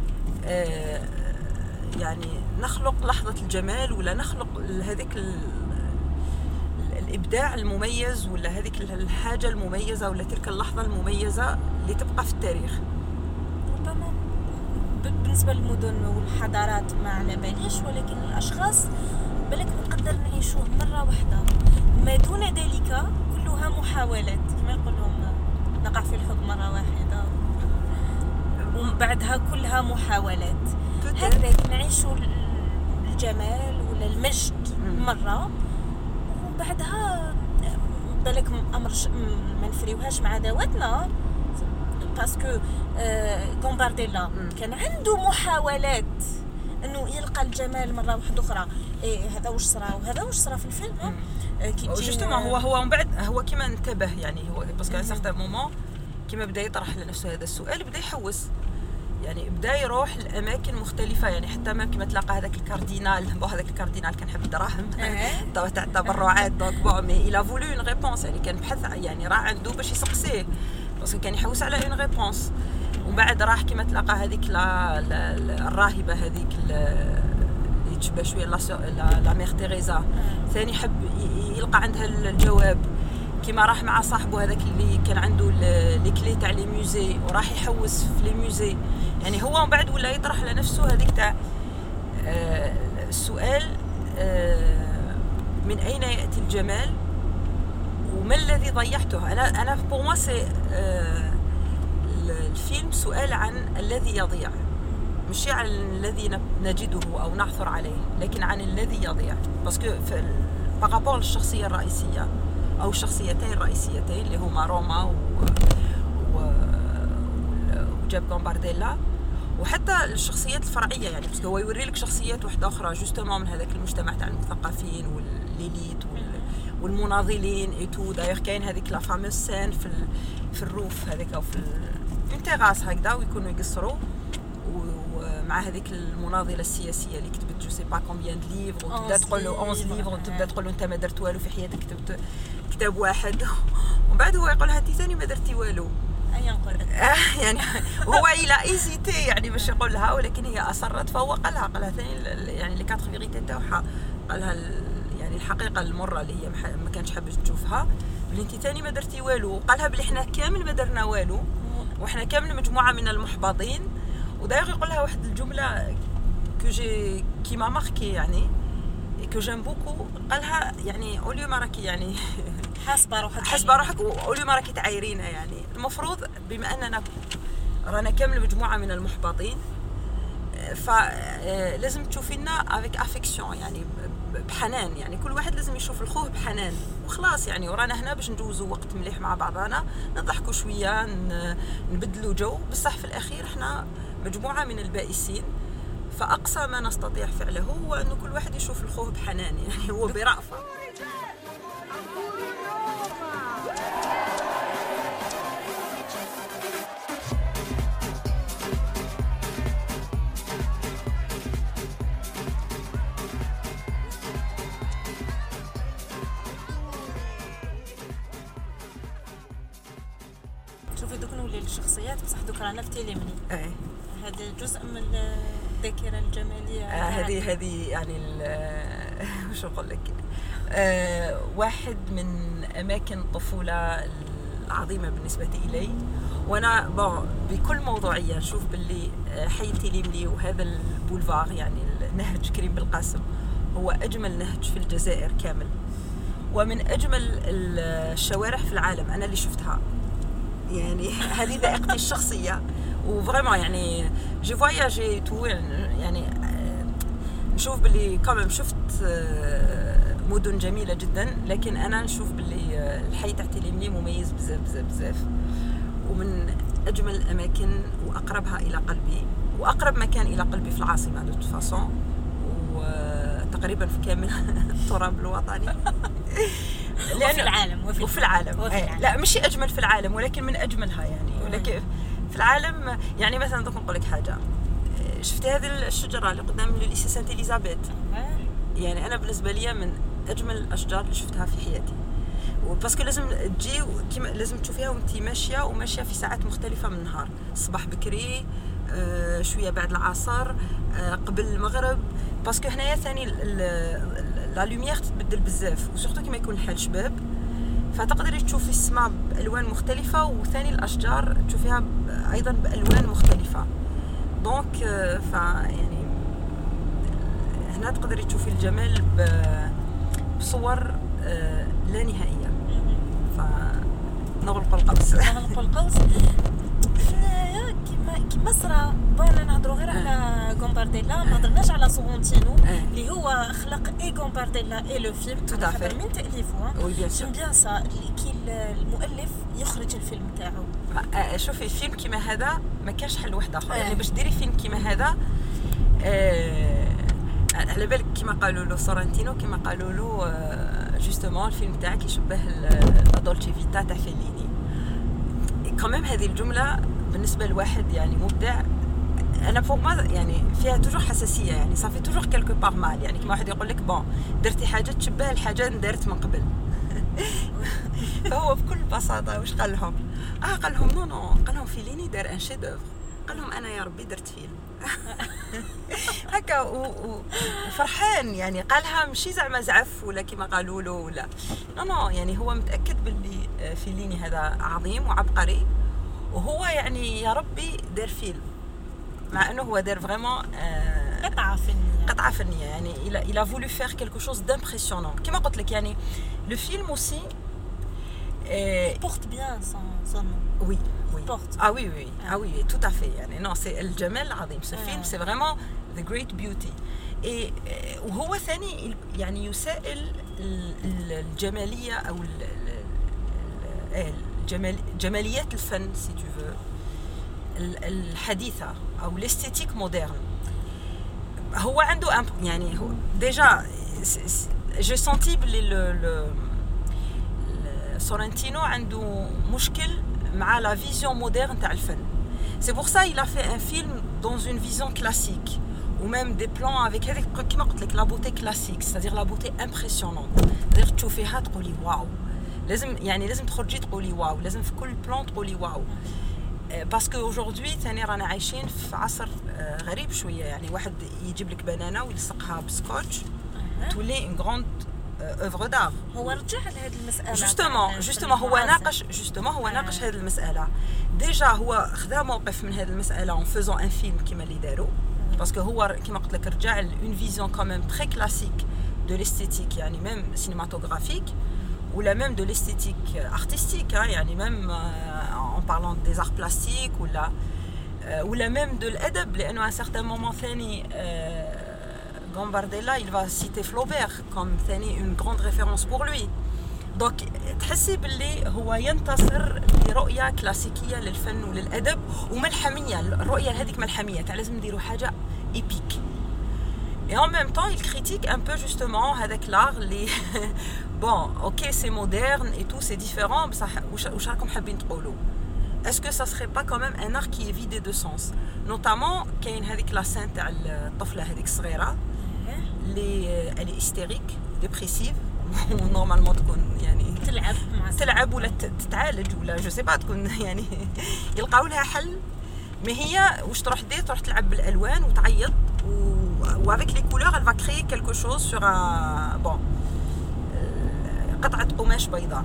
C: يعني نخلق لحظة الجمال ولا نخلق هذيك الإبداع المميز ولا هذيك الحاجة المميزة ولا تلك اللحظة المميزة اللي تبقى في التاريخ.
A: ربما بالنسبة للمدن والحضارات ما على باليش، ولكن الأشخاص بالك نقدر نعيشوه مرة واحدة، ما دون ذلك كلها محاولات كما يقولهم نقع في الحب مرة واحدة ومن بعدها كلها محاولات. هكذاك نعيشوا الجمال ولا المجد مرة وبعدها بالك امر ما نفريوهاش مع ذواتنا باسكو كومبارديلا كان عنده محاولات انه يلقى الجمال مره واحده اخرى. إيه هذا واش صرا وهذا واش صرا في الفيلم.
C: كي جوستومون هو هو من بعد هو كيما انتبه يعني هو باسكو سارتان مومون كيما بدا يطرح لنفسه هذا السؤال بدا يحوس يعني بدا يروح لاماكن مختلفه يعني حتى ما كيما تلاقى هذاك الكاردينال بو هذاك الكاردينال كان حب الدراهم تاع التبرعات دونك بو مي إلا فولو اون ريبونس يعني كان بحث يعني راه عنده باش يسقسيه باسكو كان يحوس على اون ريبونس. ومن بعد راح كيما تلاقى هذيك لا الراهبه هذيك اللي تشبه شويه لا لا ميغ تيريزا ثاني حب يلقى عندها الجواب. كيما راح مع صاحبه هذاك اللي كان عنده لي كلي تاع لي موزي وراح يحوس في لي موزي يعني هو من بعد ولا يطرح لنفسه هذيك تاع السؤال من اين ياتي الجمال وما الذي ضيعته. انا انا بور موا سي الفيلم سؤال عن الذي يضيع مش عن الذي نجده او نعثر عليه لكن عن الذي يضيع باسكو بارابور للشخصيه الرئيسيه او الشخصيتين الرئيسيتين اللي هما روما و... و... وجاب كومبارديلا وحتى الشخصيات الفرعيه يعني باسكو هو يوري لك شخصيات واحده اخرى جوستومون من هذاك المجتمع تاع المثقفين والليليت وال... والمناضلين اي تو. دايوغ كاين هذيك لا فاموس سين في ال... في الروف هذيك او في اون تيراس هكذا ويكونوا يقصروا ومع هذيك المناضله السياسيه اللي كتبت جو سي با كومبيان دو ليفر وتبدا تقول له أونز ليفر وتبدا تقول له انت ما درت والو في حياتك كتبت كتاب واحد ومن بعد هو يقول لها انت ثاني ما درتي والو
A: اي نقول
C: يعني هو الى ايزيتي يعني باش يقول لها ولكن هي اصرت فهو قال لها قال لها ثاني يعني لي كاتر فيغيتي تاعها قال لها يعني الحقيقه المره اللي هي ما كانش حابه تشوفها بلي انت ثاني ما درتي والو. قالها بلي احنا كامل ما درنا والو واحنا كامل مجموعه من المحبطين. وداير يقول لها واحد الجمله كو جي كي ما ماركي يعني كو جيم بوكو قالها يعني اوليو ما راكي يعني
A: حاسبه روحك
C: حاسبه روحك اوليو ما راكي تعايرينا يعني المفروض بما اننا رانا كامل مجموعه من المحبطين فلازم تشوفينا افيك افيكسيون يعني بحنان يعني كل واحد لازم يشوف الخوه بحنان وخلاص يعني ورانا هنا باش ندوزوا وقت مليح مع بعضنا نضحكوا شويه نبدلوا جو بصح في الاخير احنا مجموعه من البائسين. فاقصى ما نستطيع فعله هو انه كل واحد يشوف الخوه بحنان يعني هو برأفه.
A: شوفي دوك نولي الشخصيات بصح دوك رانا في تيليمني
C: اي
A: هذا جزء من الذاكره الجماليه
C: هذه آه هذه يعني واش نقول لك آه واحد من اماكن الطفوله العظيمه بالنسبه الي. وانا بون بكل موضوعيه نشوف باللي حي تيليملي وهذا البولفار يعني نهج كريم بالقاسم هو اجمل نهج في الجزائر كامل ومن اجمل الشوارع في العالم انا اللي شفتها يعني هذه ذائقتي الشخصيه وفريمون يعني جي فواياجي تو يعني نشوف باللي كمان شفت مدن جميله جدا لكن انا نشوف باللي الحي تاع تيليملي مميز بزاف بزاف بزاف ومن اجمل الاماكن واقربها الى قلبي واقرب مكان الى قلبي في العاصمه دو فاسون وتقريبا في كامل التراب الوطني
A: وفي العالم
C: وفي, وفي العالم, وفي العالم. لا مش اجمل في العالم ولكن من اجملها يعني ولكن في العالم يعني مثلا دوك نقول لك حاجه شفتي هذه الشجره اللي قدام ليسي سانت اليزابيث يعني انا بالنسبه لي من اجمل الاشجار اللي شفتها في حياتي وباسكو لازم تجي كيما لازم تشوفيها وانت ماشيه وماشيه في ساعات مختلفه من النهار الصباح بكري آه شويه بعد العصر آه قبل المغرب باسكو هنايا ثاني لا لوميير تتبدل بزاف وسورتو كيما يكون الحال شباب فتقدري تشوفي السماء بالوان مختلفه وثاني الاشجار تشوفيها ايضا بالوان مختلفه دونك ف يعني هنا تقدري تشوفي الجمال بصور لا نهائيه فنغلق القوس
A: نغلق القوس كيما كيما صرا بغينا نهضروا غير على كومبارديلا ما هضرناش على سورونتينو اللي هو خلق اي كومبارديلا اي لو فيلم خاطر من تاليفه
C: وي بيان سور
A: بيان سا كي المؤلف يخرج الفيلم تاعو
C: شوفي فيلم كيما هذا ما كانش حل واحد اخر يعني باش ديري فيلم كيما هذا على بالك كما قالوا له سورنتينو كما قالوا له جوستومون الفيلم تاعك يشبه دولتشي فيتا تاع فيليني كمان. هذه الجمله بالنسبه لواحد يعني مبدع انا فوق ما يعني فيها توجور حساسيه يعني صافي توجور كالكو بار مال يعني كما واحد يقول لك بون درتي حاجه تشبه الحاجه اللي دارت من قبل. فهو بكل بساطه واش قال لهم اه قال لهم نو نو قال لهم فيليني دار ان شي دوفر قال لهم انا يا ربي درت فيلم. هكا وفرحان يعني قالها ماشي زعما زعف ولا كما قالوا له ولا نو نو يعني هو متاكد باللي فيليني هذا عظيم وعبقري وهو يعني يا ربي دار فيلم مع انه هو دار فريمون
A: قطعه فنيه
C: قطعه فنيه يعني il a, il a voulu faire quelque chose d'impressionnant كما قلت لك يعني le film aussi
A: il porte bien son, son nom.
C: Oui, oui.
A: Porte.
C: Ah oui, oui, ah oui, tout à fait. يعني non, c'est الجمال العظيم. Ce film, c'est vraiment the great beauty. Et وهو ثاني يعني يسائل الجمالية أو الجمال جماليات الفن si tu veux الحديثة أو l'esthétique moderne. هو عنده يعني هو déjà j'ai senti باللي le Sorrentino عنده مشكل مع la vision moderne تاع الفن. C'est pour ça il a fait un film dans une vision classique ou même des plans avec هذيك كيما قلت لك la beauté classique, c'est-à-dire la beauté impressionnante. c'est-à-dire تشوفيها تقولي واو. لازم يعني لازم تخرجي تقولي واو، لازم في كل بلان تقولي واو. باسكو aujourd'hui ثاني رانا عايشين في عصر غريب شويه، يعني واحد يجيب لك بنانه ويلصقها بسكوتش تولي une grande œuvre d'art.
A: هو رجع لهذه المساله
C: جوستومون جوستومون هو ناقش جوستومون هو ناقش هذه المساله. ديجا هو خذا موقف من هذه المساله en faisant un film كيما اللي داروا، باسكو هو كيما قلت لك رجع une vision quand même très classique de l'esthétique يعني même cinématographique ou la même de l'esthétique artistique hein, يعني même euh, en parlant des arts plastiques ou la euh, ou la même de l'adab لانه à un certain moment ثاني euh, Gambardella il va citer Flaubert comme ثاني une grande référence pour lui. donc تحسي باللي هو ينتصر لرؤيه كلاسيكيه للفن وللادب وملحميه. الرؤيه هذيك ملحميه تاع لازم نديروا حاجه ايبيك. Et en même temps, il critique un peu justement avec l'art les bon, OK, c'est moderne et tout, c'est différent, بصح واش راكم حابين تقولوا؟ Est-ce que ça serait pas quand même un art qui est vidé de sens? Notamment كاين هذيك لا سين تاع الطفله هذيك الصغيره اللي elle est hystérique, dépressive ونورمالمون تكون يعني
A: تلعب مع
C: تلعب ولا تتعالج ولا جو سي با تكون يعني يلقاو لها حل. ما هي واش تروح دير؟ تروح تلعب بالالوان وتعيط و avec les couleurs elle va créer quelque chose sur un bon قطعه قماش بيضاء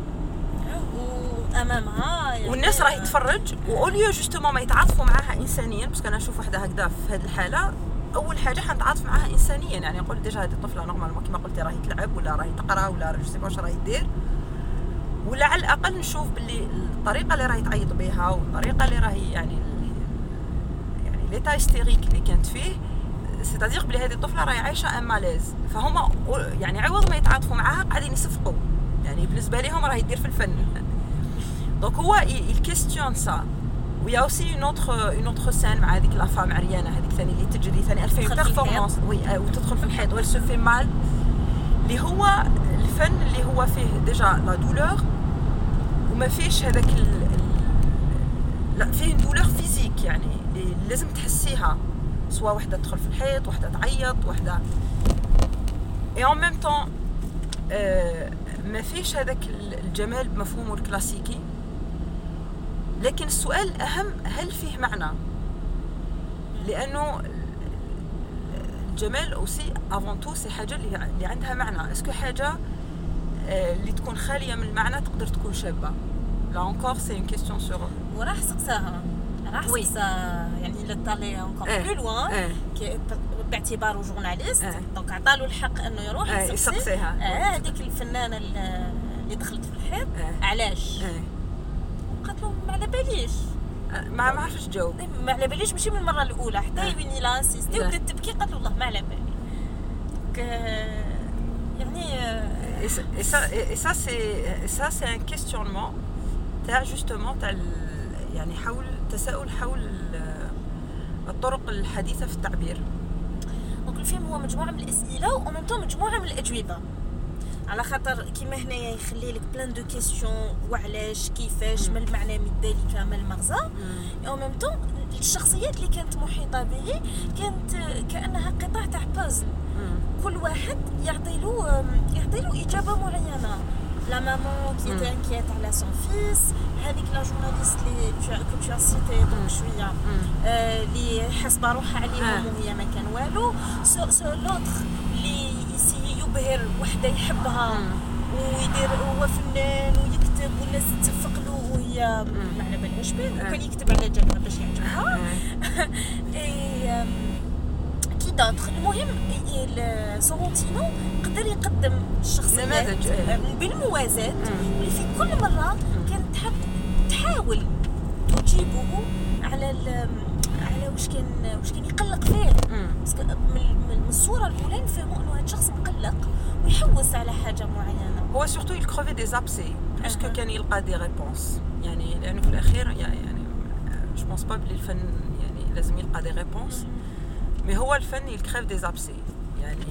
A: وامامها يعني
C: والناس راهي تتفرج واوليو جوستومون ما يتعاطفوا معاها انسانيا. باسكو انا نشوف وحده هكذا في هذه الحاله اول حاجه حنتعاطف معاها انسانيا، يعني نقول ديجا هذه الطفله نورمالمون كما قلتي راهي تلعب ولا راهي تقرا ولا جو سي با واش راهي دير، ولا على الاقل نشوف باللي الطريقه اللي راهي تعيط بها والطريقه اللي راهي يعني يعني ليتا هيستيريك اللي كانت فيه c'est-à-dire بلي هذه الطفله راهي عايشه ان ماليز. فهما يعني عوض ما يتعاطفوا معاها قاعدين يصفقوا، يعني بالنسبه لهم راهي دير في الفن. دونك هو il questionne ça. ويا aussi une autre une autre scène مع هذيك لا فام عريانه هذيك ثاني اللي تجري ثاني elle fait une performance وي وتدخل في الحيط وelle se fait mal اللي هو الفن اللي هو فيه ديجا لا دولور وما فيش هذاك لا فيه دولور فيزيك يعني اللي لازم تحسيها، سواء وحده تدخل في الحيط وحده تعيط وحده et en même temps euh, ما فيش هذاك الجمال بمفهومه الكلاسيكي. لكن السؤال الأهم هل فيه معنى؟ لأنه الجمال أوسي avant tout سي حاجة اللي عندها معنى. اسكو حاجة اللي تكون خالية من المعنى تقدر تكون شابة؟ لا encore c'est une question sur
A: وراح سقساها راح سقسا يعني إلا طالي encore plus loin باعتباره جورناليست دونك عطالو الحق انه يروح يسقسيها هذيك الفنانه اللي دخلت في الحيط علاش قالت له ما على باليش
C: ما ما عرفتش تجاوب
A: ما على باليش ماشي من المره الاولى حتى يبني لا انسيستي وبدات تبكي قالت له والله ما على بالي يعني
C: et ça et ça c'est ça c'est un questionnement تاع justement تاع يعني حول تساؤل حول الطرق الحديثه في التعبير.
D: دونك الفيلم هو مجموعه من الاسئله ومنتو مجموعه من الاجوبه على خاطر كيما هنايا يخلي لك بلان دو كيسيون وعلاش كيفاش ما المعنى من ذلك ما المغزى او ميم طون الشخصيات اللي كانت محيطه به كانت كانها قطع تاع بازل كل واحد يعطي له يعطي له اجابه معينه لا مامون كي تي انكيت على سون فيس هذيك لا جورناليست اللي كنت تو سيتي دونك شويه اللي حاسبه روحها عليهم وهي ما كان والو سو سو لوتر اللي يبهر وحده يحبها ويدير هو فنان ويكتب والناس تتفق له وهي ما على بالهاش به وكان يكتب على جنبها باش يعجبها اي كي داتر المهم سورونتينو قدر يقدم الشخصيات بالموازاه اللي في كل مره كانت تحب تحاول تجيبه على على واش كان واش كان يقلق فيه من الصوره الاولى نفهموا انه هذا الشخص مقلق ويحوس على حاجه معينه
E: هو سورتو يكروفي دي زابسي باسكو كان يلقى دي ريبونس يعني لانه في الاخير يعني جو بونس با بلي الفن يعني لازم يلقى دي ريبونس مي هو الفن يكريف دي زابسي يعني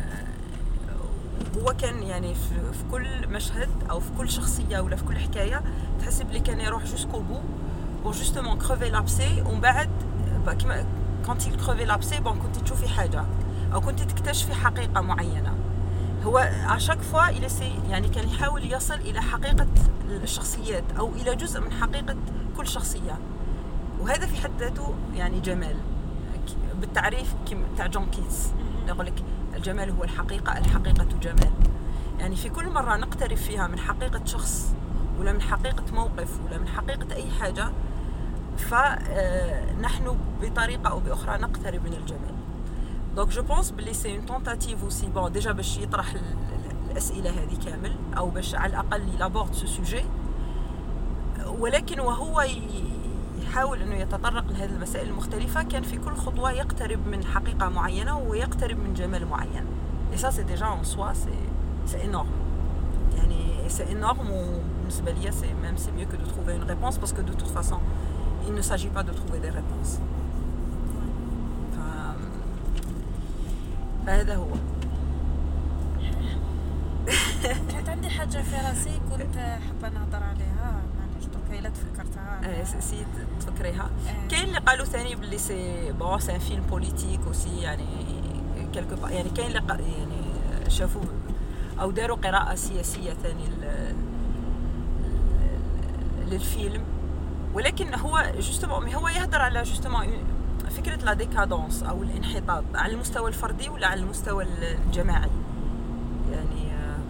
E: هو كان يعني في كل مشهد او في كل شخصيه ولا في كل حكايه تحس بلي كان يروح جوسكو بو بور جوستومون كروفي لابسي ومن بعد كيما كونت يكروفي لابسي بون كنت تشوفي حاجه او كنت تكتشفي حقيقه معينه هو اشاك فوا الى سي يعني كان يحاول يصل الى حقيقه الشخصيات او الى جزء من حقيقه كل شخصيه وهذا في حد ذاته يعني جمال بالتعريف تاع جون كيتس يقول لك الجمال هو الحقيقه الحقيقه جمال يعني في كل مره نقترب فيها من حقيقه شخص ولا من حقيقه موقف ولا من حقيقه اي حاجه فنحن بطريقه او باخرى نقترب من الجمال دونك جو بونس بلي سي اون تونتاتيف اوسي بون ديجا باش يطرح الاسئله هذه كامل او باش على الاقل يلابورد سو سوجي ولكن وهو يحاول انه يتطرق لهذه المسائل المختلفه كان في كل خطوه يقترب من حقيقه معينه ويقترب من جمال معين et ça c'est déjà en soi c'est c'est énorme يعني c'est énorme وبالنسبه ليا c'est même c'est mieux que de trouver une réponse parce que de toute façon il ne s'agit pas de trouver des réponses فهذا هو
D: كانت عندي حاجه في راسي كنت حابه نهضر عليها معليش دوكا الا تفكرتها
E: اه سي تفكريها كاين اللي قالوا ثاني باللي سي بون سي ان فيلم بوليتيك اوسي يعني كلكو يعني كاين اللي يعني شافوا او داروا قراءه سياسيه ثاني للفيلم ولكن هو جوستومون هو يهضر على جوستومون فكرة لا ديكادونس أو الانحطاط على المستوى الفردي ولا على المستوى الجماعي يعني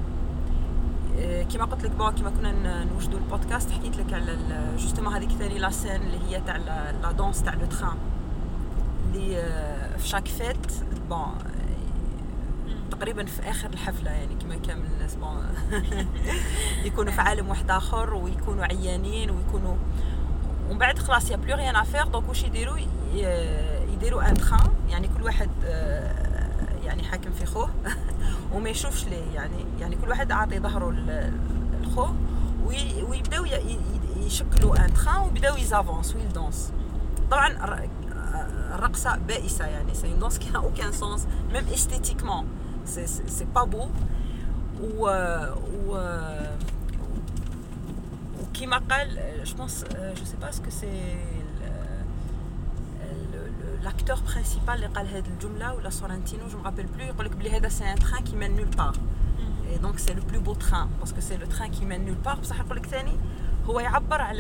E: كما قلت لك بون كما كنا نوجدوا البودكاست حكيت لك على جوستومون هذيك ثاني لا سين اللي هي تاع لا دونس تاع لو تران اللي في شاك فيت بون تقريبا في آخر الحفلة يعني كما كامل الناس بون يكونوا في عالم واحد آخر ويكونوا عيانين ويكونوا ومن بعد خلاص يا بلو ريان افير دونك واش يديروا يديروا ان تران يعني كل واحد يعني حاكم في خوه وما يشوفش ليه يعني يعني كل واحد عاطي ظهره للخوه ويبداو يشكلوا ان تران ويبداو يزافونس ويلدونس طبعا الرقصه بائسه يعني سي اون دونس كي نا اوكان سونس ميم استيتيكمون سي سي با بو و و كيما قال je pense euh, je sais pas ce que c'est l'acteur principal اللي قال هذه الجمله ولا سورنتينو جو مابيل بلو يقول لك بلي هذا سي ان تران كي مين نول بار et donc c'est le plus beau train parce que c'est le train qui mène nulle part بصح يقول لك ثاني هو يعبر على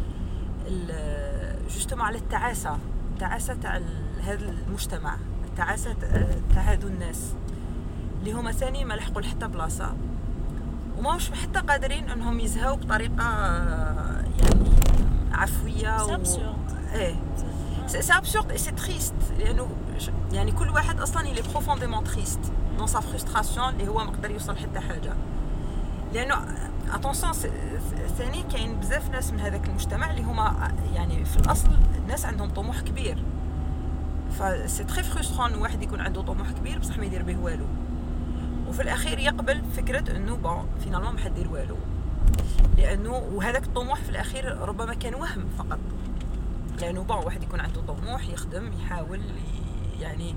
E: ال جوستومون على التعاسه التعاسه تاع هذا المجتمع التعاسه تاع هذو الناس اللي هما ثاني ما لحقوا لحتى بلاصه وماهوش حتى قادرين انهم يزهاو بطريقه يعني عفويه
D: و...
E: ايه سي ابسورد اي سي تريست لانه يعني كل واحد اصلا اللي بروفونديمون تريست دون سا فرستراسيون اللي هو ما قدر يوصل حتى حاجه لانه اتونسيون ثاني كاين بزاف ناس من هذاك المجتمع اللي هما يعني في الاصل الناس عندهم طموح كبير فسي تري فرسترون واحد يكون عنده طموح كبير بصح ما يدير به والو وفي الاخير يقبل فكره انه بون فينالمون ما حدير والو لانه وهذاك الطموح في الاخير ربما كان وهم فقط لانه بون واحد يكون عنده طموح يخدم يحاول يعني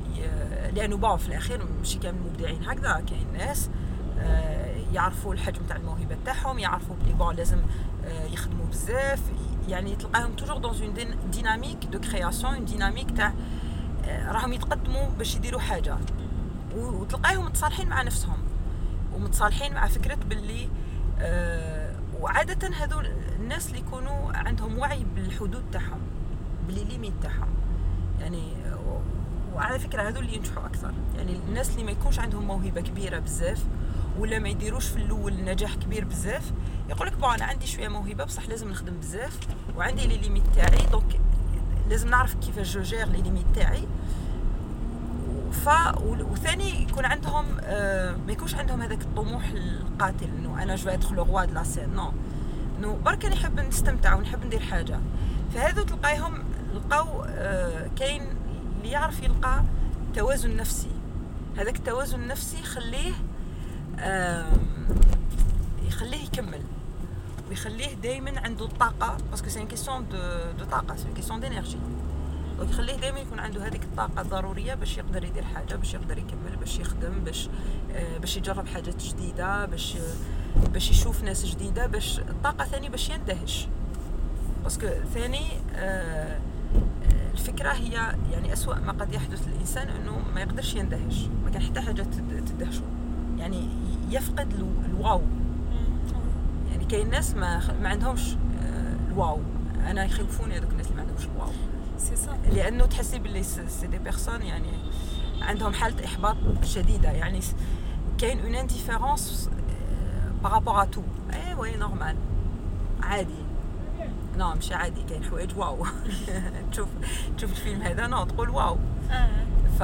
E: لانه باو في الاخير ماشي كامل المبدعين هكذا، كاين ناس يعرفوا الحجم تاع الموهبه تاعهم، يعرفوا بلي بون لازم يخدموا بزاف، يعني تلقاهم توجور دون اون ديناميك دو كرياسيون، اون ديناميك تاع راهم يتقدموا باش يديروا حاجه، وتلقاهم متصالحين مع نفسهم ومتصالحين مع فكره باللي أه وعاده هذو الناس اللي يكونوا عندهم وعي بالحدود تاعهم، باللي ليميت تاعهم، يعني وعلى فكره هذو اللي ينجحوا اكثر. يعني الناس اللي ما يكونش عندهم موهبه كبيره بزاف ولا ما يديروش في الاول نجاح كبير بزاف، يقول لك بون انا عندي شويه موهبه بصح لازم نخدم بزاف وعندي لي ليميت تاعي، دونك لازم نعرف كيفاش جو جير لي ليميت تاعي. ف وثاني يكون عندهم آه ما يكونش عندهم هذاك الطموح القاتل انه انا جو ادخل لو روا دو لا سين، نو نو برك نحب نستمتع ونحب ندير حاجه. فهذو تلقايهم لقاو آه كاين اللي يعرف يلقى توازن نفسي، هذاك التوازن النفسي يخليه آه يخليه يكمل ويخليه دائما عنده الطاقه، باسكو سي ان كيسيون دو دو طاقه، سي ان كيسيون دينيرجي، دونك يخليه دائما يكون عنده هذيك الطاقه الضروريه باش يقدر يدير حاجه، باش يقدر يكمل، باش يخدم، باش آه باش يجرب حاجات جديده، باش آه باش يشوف ناس جديده، باش الطاقه ثاني باش يندهش، باسكو ثاني آه الفكره هي يعني أسوأ ما قد يحدث للانسان انه ما يقدرش يندهش، ما كان حتى حاجه تدهشه، يعني يفقد الواو. يعني كاين ناس ما ما عندهمش الواو، انا يخوفوني هذوك الناس اللي ما عندهمش الواو،
D: سي صح،
E: لانه تحسي باللي سي دي بيرسون يعني عندهم حاله احباط شديده، يعني كاين اون انديفيرونس بارابور ا تو. اي وي نورمال عادي، نعم مش عادي، كاين حوايج واو تشوف تشوف الفيلم هذا نو تقول واو. ف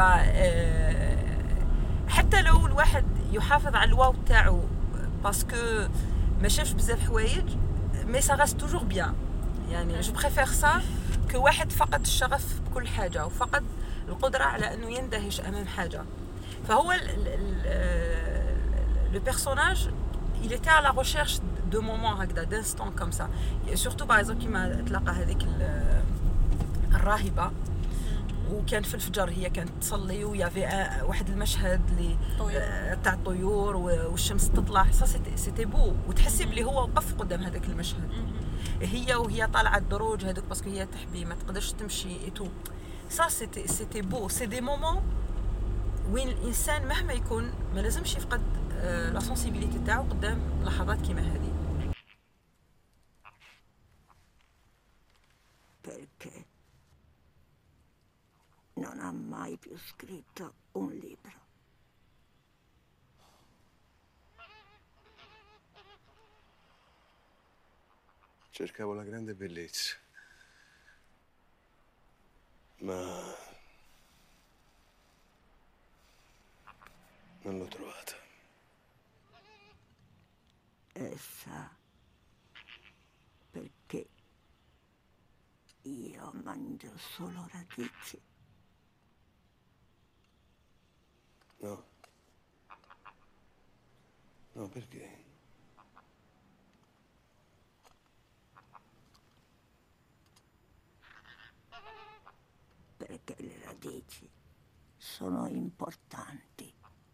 E: حتى لو الواحد يحافظ على الواو تاعو باسكو ما شافش بزاف حوايج، مي سا راست توجور بيان، يعني جو بريفير سا كو واحد فقد الشغف بكل حاجه وفقد القدره على انه يندهش امام حاجه. فهو لو بيرسوناج il était à la recherche de moments هكذا d'instants comme ça, et surtout par exemple كيما تلاقى هذيك الراهبه وكان في الفجر هي كانت تصلي ويافي واحد المشهد اللي تاع الطيور والشمس تطلع، سيتي بو، وتحسي بلي هو وقف قدام هذاك المشهد، هي وهي طالعه الدروج هذوك باسكو هي تحبي ما تقدرش تمشي ايتو، سا سيتي سيتي بو. سي دي مومون وين الانسان مهما يكون ما لازمش يفقد لا سنسيبيليتي تاعو قدام لحظات كيما هذه.
F: Perché non ha mai più scritto un libro.
B: Cercavo la grande bellezza, ma non l'ho trovata.
F: Essa perché io mangio solo radici.
B: No. No, perché?
F: Perché le radici sono importanti.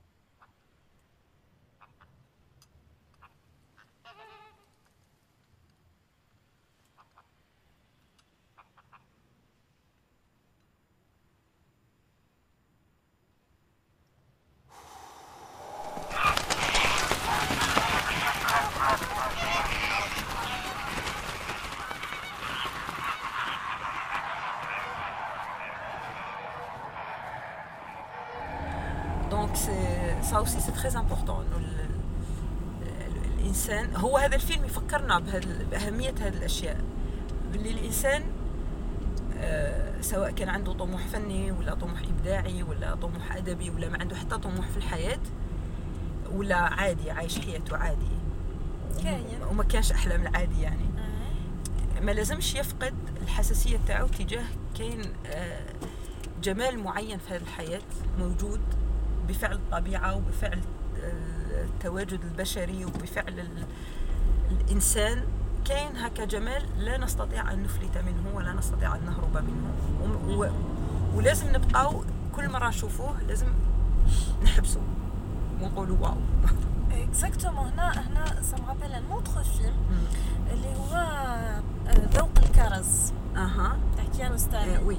E: دونك سا اوسي سي تري امبورطون انه الانسان، هو هذا الفيلم يفكرنا باهميه هذه الاشياء، باللي الانسان آه سواء كان عنده طموح فني ولا طموح ابداعي ولا طموح ادبي ولا ما عنده حتى طموح في الحياه ولا عادي عايش حياته عادي
D: كاين
E: وما كانش احلام العادي، يعني ما لازمش يفقد الحساسيه تاعو تجاه كاين آه جمال معين في هذه الحياه موجود بفعل الطبيعه وبفعل التواجد البشري وبفعل الانسان، كاين هكا جمال لا نستطيع ان نفلت منه ولا نستطيع ان نهرب منه، ولازم نبقاو كل مره نشوفوه لازم نحبسوا ونقولوا واو.
D: اكزاكتومون. هنا هنا سا مابيل ان اوتر فيلم اللي هو ذوق الكرز.
E: اها
D: تاع كيارستاني.
E: وي.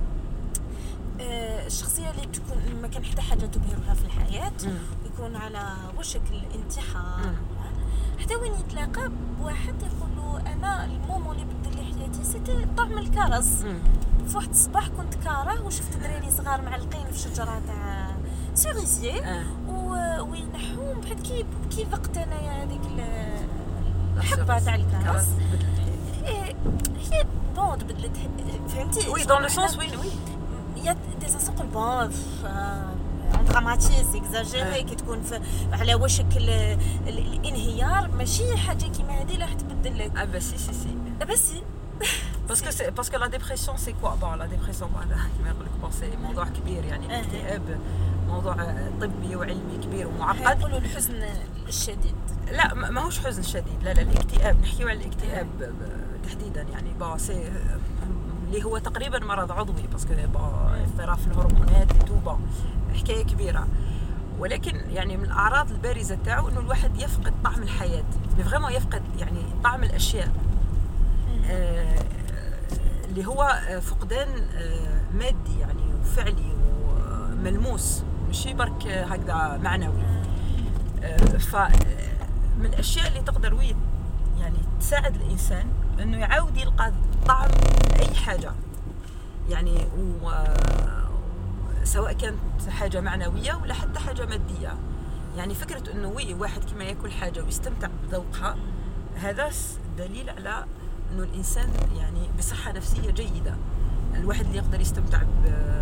D: الشخصيه اللي تكون ما كان حتى حاجه تبهرها في الحياه، يكون على وشك الانتحار، حتى وين يتلاقى بواحد يقول له انا المومون اللي بدل لي حياتي سيتي طعم الكرز. في واحد الصباح كنت كاره وشفت دراري صغار معلقين في شجره تاع سيريزيي
E: آه.
D: وينحوهم بحال كي كي ذقت انايا هذيك الحبه تاع الكرز. إيه هي بون تبدلت فهمتي.
E: وي دون لو سونس وي وي
D: يا دي سانسون بون ان دراماتيز اكزاجيري كي تكون على وشك الانهيار، ماشي حاجه كيما هذه لا تبدل لك.
E: اه بس سي سي سي
D: بس
E: parce que c'est parce que la dépression c'est quoi bon la dépression هذا كما يقول لك c'est موضوع كبير يعني الاكتئاب موضوع طبي وعلمي كبير ومعقد.
D: يقولوا الحزن الشديد.
E: لا ما هوش حزن شديد، لا لا الاكتئاب نحكيو على الاكتئاب تحديدا يعني با سي اللي هو تقريبا مرض عضوي باسكو با اضطراب في الهرمونات توبا حكايه كبيره، ولكن يعني من الاعراض البارزه تاعو انه الواحد يفقد طعم الحياه، فريمون يفقد يعني طعم الاشياء آه اللي هو فقدان آه مادي يعني وفعلي وملموس ماشي برك هكذا معنوي. آه فمن الاشياء اللي تقدر ويد يعني تساعد الانسان انه يعاود يلقى طعم اي حاجه يعني و سواء كانت حاجه معنويه ولا حتى حاجه ماديه. يعني فكره انه وي واحد كما ياكل حاجه ويستمتع بذوقها هذا دليل على انه الانسان يعني بصحه نفسيه جيده. الواحد اللي يقدر يستمتع ب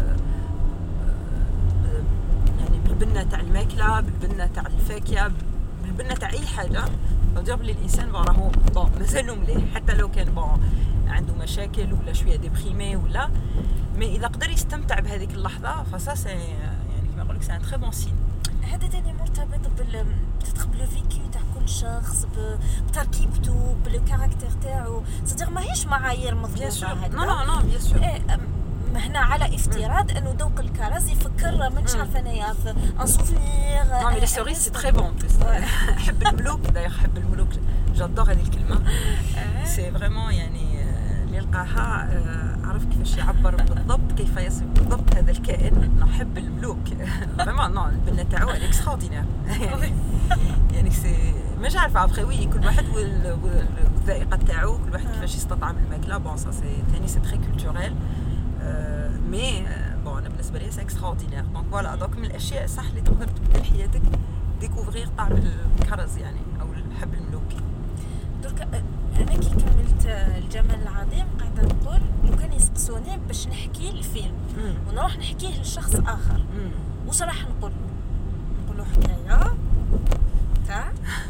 E: يعني بالبنه تاع الماكله، بالبنه تاع الفاكهه، بالبنه تاع اي حاجه، نجرب لي الانسان راهو بون مازالو مليح حتى لو كان بون عنده مشاكل ولا شويه ديبريمي ولا مي اذا قدر يستمتع بهذيك اللحظه فسا سي يعني كما نقول لك سي ان تري بون سين.
D: هذا تاني مرتبط بال بتتخ بلو فيكو تاع كل شخص بتركيبته بالكاركتير تاعو، صدق ماهيش معايير مضبوطه هكذا.
E: نو نو نو بيان سور.
D: هنا على افتراض انه ذوق الكرز يفكر مانيش عارفه انايا في ان سوفينير.
E: نو مي لي سوريز سي تري بون بليس. نحب الملوك داير نحب الملوك جادور هذه الكلمه سي فريمون يعني اللي لقاها عرف كيفاش يعبر بالضبط كيف يصف بالضبط هذا الكائن. نحب الملوك فريمون. نو البنه تاعو اكستراوردينير يعني سي مش عارفه ابخي وي كل واحد والذائقه تاعو كل واحد كيفاش يستطعم الماكله بون سا سي ثاني سي تري كولتوريل مي بون انا بالنسبه لي سي اكستراوردينير. دونك فوالا دوك من الاشياء صح اللي تقدر تبدل حياتك ديكوفرير طعم الكرز يعني او الحب الملوكي.
D: درك انا كي كملت الجمال العظيم قاعده نقول لو كان يسقسوني باش نحكي الفيلم ونروح نحكيه لشخص اخر واش راح نقول له؟ نقول له حكايه تاع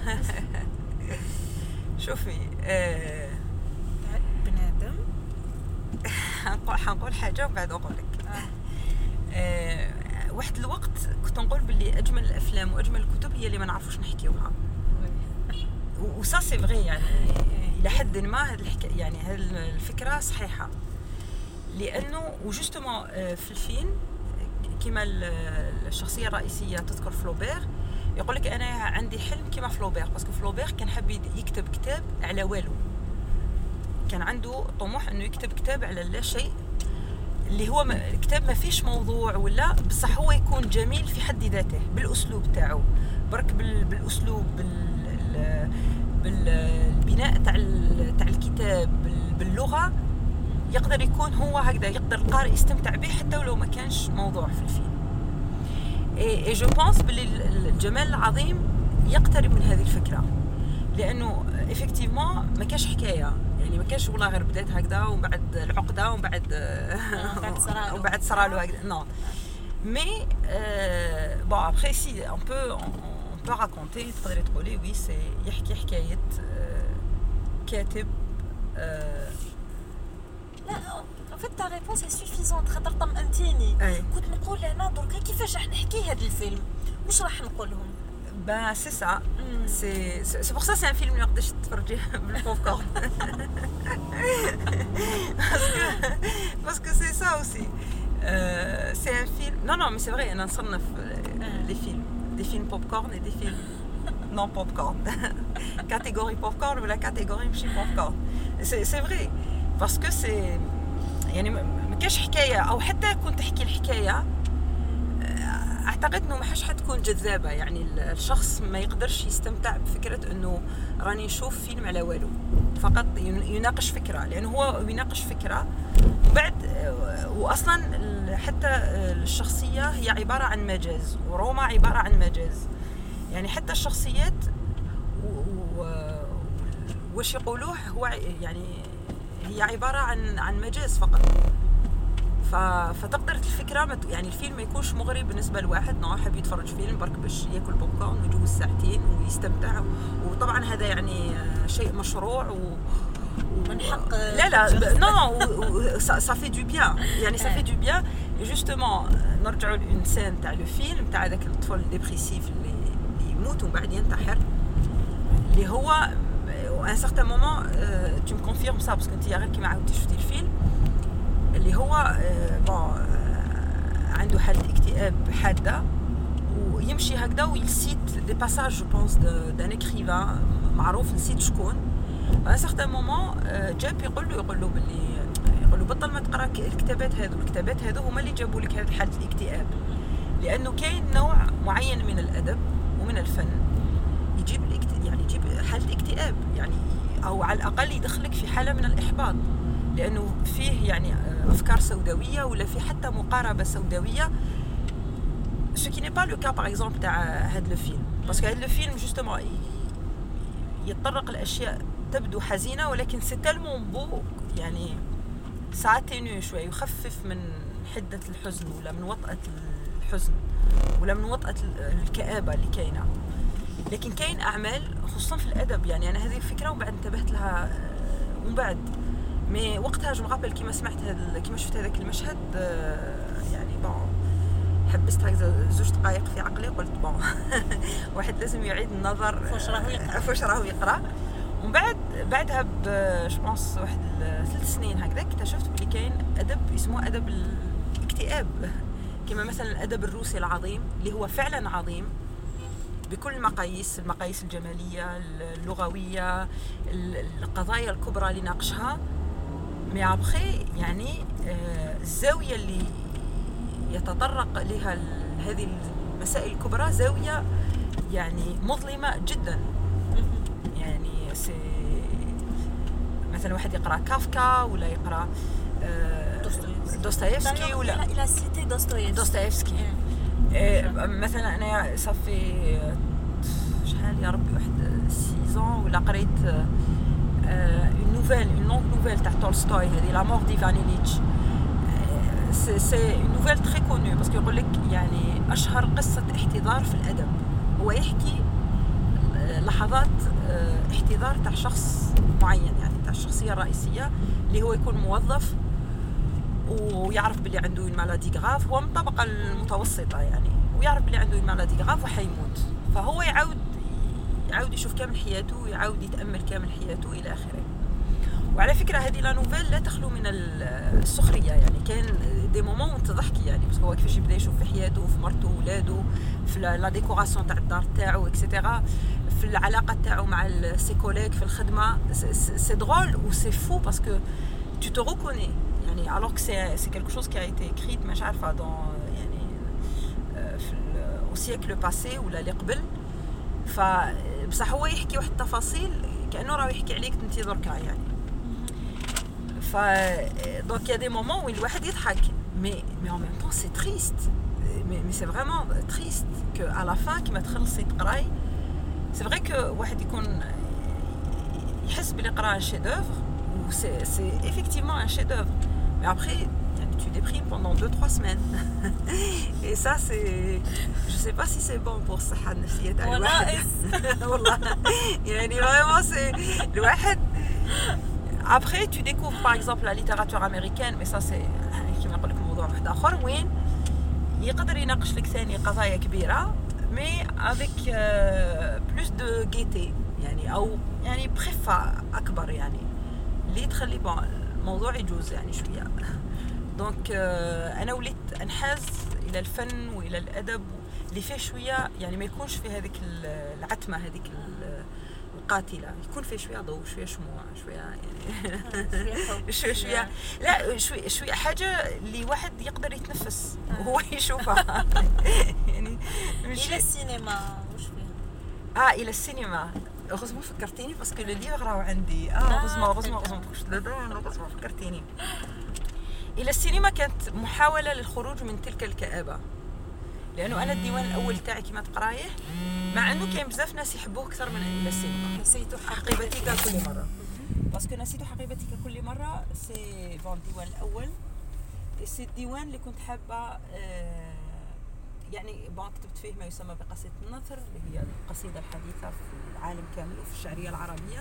E: شوفي آه
D: بنادم
E: حنقول حنقول حاجه وبعد اقول لك. آه. آه واحد الوقت كنت نقول باللي اجمل الافلام واجمل الكتب هي اللي ما نعرفوش نحكيوها. وسا سي فغي يعني الى حد ما هذه الحكايه يعني هذه الفكره صحيحه لانه وجوستومون في الفيلم كما الشخصيه الرئيسيه تذكر فلوبير يقول لك انا عندي حلم كما فلوبير باسكو فلوبير كان حاب يكتب كتاب على والو، كان عنده طموح انه يكتب كتاب على لا شيء اللي هو كتاب ما فيش موضوع ولا بصح هو يكون جميل في حد ذاته بالاسلوب تاعو برك بالاسلوب بال بالبناء تاع تاع الكتاب باللغه يقدر يكون هو هكذا يقدر القارئ يستمتع به حتى ولو ما كانش موضوع في الفيلم. اي جو بونس باللي الجمال العظيم يقترب من هذه الفكره لانه افكتيفمون ما كانش حكايه يعني ما كانش والله غير بدات هكذا ومن بعد العقده ومن بعد ومن بعد صرالو هكذا نو مي بون ابري سي اون بو peut raconter تقدري تقولي وي سي يحكي حكايه كاتب.
D: لا في تا ريبونس سي سوفيزونت خاطر طمأنتيني. كنت نقول انا درك كيفاش راح نحكي هذا الفيلم واش راح نقول لهم.
E: با سي سا سي سي بور سا سي ان فيلم ما يقدرش تفرجيه بالبوب كورن باسكو باسكو سي سا اوسي سي ان فيلم Non, non, mais c'est vrai, on a les films, des films popcorn et des films non popcorn. Catégorie popcorn ou la catégorie ماشي popcorn. C'est c'est vrai, parce que c'est يعني ما كاش حكاية أو حتى كنت تحكي الحكاية أعتقد إنه ما حش حتكون جذابة. يعني الشخص ما يقدرش يستمتع بفكرة إنه راني نشوف فيلم على والو، فقط يناقش فكرة، لأنه هو يناقش فكرة. وبعد وأصلا حتى الشخصية هي عبارة عن مجاز، وروما عبارة عن مجاز. يعني حتى الشخصيات وش يقولوه هو يعني هي عبارة عن عن مجاز فقط. فتقدر الفكرة يعني الفيلم ما يكونش مغري بالنسبة لواحد نوع حاب يتفرج فيلم برك باش ياكل بوب كورن ويجوز ساعتين ويستمتع. وطبعا هذا يعني شيء مشروع و
D: من حق
E: لا لا نو سا في دو بيان، يعني سا في دو بيان. جوستومون نرجعوا للإنسان تاع لو فيلم تاع هذاك الطفل الديبريسيف اللي يموت ومن بعد ينتحر، اللي هو ان سارتان مومون tu me confirmes ça parce que انت غير كيما عاودتي شفتي الفيلم اللي هو بون عنده حالة اكتئاب حادة ويمشي هكذا ويلسيت دي باساج جو بونس دان اكريفان معروف نسيت شكون. ان سارتان مومون جاب يقول له يقول له باللي يقول له بطل ما تقرا الكتابات هذو، الكتابات هذو هما اللي جابوا لك هذه حالة الاكتئاب، لانه كاين نوع معين من الادب ومن الفن يجيب يعني يجيب حالة اكتئاب، يعني او على الاقل يدخلك في حالة من الاحباط، لانه فيه يعني افكار سوداويه ولا في حتى مقاربه سوداويه. ce qui n'est pas le cas par exemple تاع هذا الفيلم، parce que هذا الفيلم justement يتطرق لاشياء تبدو حزينه ولكن سي تالمون بو، يعني ساعتين شويه يخفف من حده الحزن ولا من وطأة الحزن ولا من وطأة الكآبه اللي كاينه. لكن كاين اعمال خصوصا في الادب، يعني انا هذه الفكره وبعد انتبهت لها ومن بعد مي وقتها جو مغابل كيما سمعت هذا كيما شفت هذاك المشهد يعني بون حبست هكذا زوج دقائق في عقلي، قلت بون واحد لازم يعيد النظر
D: فاش راهو يقرا
E: فاش راهو يقرا. ومن بعد بعدها جو بونس واحد ثلاث سنين هكذا اكتشفت بلي كاين ادب اسمه ادب الاكتئاب، كما مثلا الادب الروسي العظيم اللي هو فعلا عظيم بكل المقاييس، المقاييس الجماليه اللغويه القضايا الكبرى اللي ناقشها. مي ابخي يعني الزاويه اللي يتطرق لها هذه المسائل الكبرى زاويه يعني مظلمه جدا. يعني سي مثلا واحد يقرا كافكا ولا يقرا دوستويفسكي ولا
D: الى سيتي دوستويفسكي
E: دوستويفسكي مثلا انا صافي شحال يا ربي واحد سيزون ولا قريت une nouvelle une longue nouvelle تاع تولستوي هذه لا مور ديفان إيليتش. سي سي une nouvelle très connue parce que يقول لك يعني اشهر قصه احتضار في الادب، هو يحكي لحظات احتضار تاع شخص معين، يعني تاع الشخصيه الرئيسيه اللي هو يكون موظف ويعرف بلي عنده المالادي غاف، هو من الطبقه المتوسطه يعني، ويعرف بلي عنده المالادي غاف وحيموت، فهو يعاود يعاود يشوف كامل حياته ويعاود يتامل كامل حياته الى اخره. وعلى فكره هذه لا نوفيل لا تخلو من السخريه، يعني كان دي مومون وانت تضحكي يعني، بس هو كيفاش يبدا يشوف في حياته وفي مرته وولاده في لا ديكوراسيون تاع الدار تاعو اكسيتيرا، في العلاقه تاعو مع سي كوليك في الخدمه. سي درول و سي فو باسكو tu te reconnais يعني alors que c'est c'est quelque chose qui a été écrit مش عارفه dans يعني في au siècle passé ولا اللي قبل. ف بصح هو يحكي واحد التفاصيل كانه راه يحكي عليك انت دركا يعني. ف دونك يا دي مومون وين الواحد يضحك مي مي en même temps c'est triste mais mais c'est vraiment triste que à la fin كيما تخلصي تقراي c'est vrai que واحد يكون يحس بلي قرا شي دوفر و c'est c'est effectivement un chef d'œuvre mais après tu déprimes pendant deux trois semaines et ça c'est je sais pas si c'est bon pour الصحة النفسية تاع الواحد والله يعني vraiment c'est الواحد. Après tu découvres par exemple la littérature américaine mais ça c'est كيما نقول لك موضوع واحد آخر وين يقدر يناقش لك ثاني قضايا كبيرة mais avec euh, plus de gaieté يعني أو يعني بخفة أكبر يعني اللي تخلي الموضوع يجوز يعني شوية. دونك انا وليت انحاز الى الفن والى الادب اللي فيه شويه يعني ما يكونش في هذيك العتمه هذيك القاتله، يكون فيه شويه ضوء شويه شموع شويه يعني شويه شويه لا شويه شويه حاجه اللي واحد يقدر يتنفس وهو يشوفها يعني
D: الى السينما واش فيه
E: اه الى السينما. غزمو فكرتيني باسكو لو ليفر راهو عندي اه غزمو غزمو غزمو غزمو فكرتيني. الى السينما كانت محاوله للخروج من تلك الكآبه، لانه انا الديوان الاول تاعي كما تقرايه مع انه كاين بزاف ناس يحبوه اكثر من الى السينما.
C: نسيت
E: حقيبتك كل مره باسكو نسيت حقيبتك كل مره سي بون الديوان الاول سي الديوان اللي كنت حابه آه يعني بون كتبت فيه ما يسمى بقصيدة النثر اللي هي القصيدة الحديثة في العالم كامل وفي الشعرية العربية.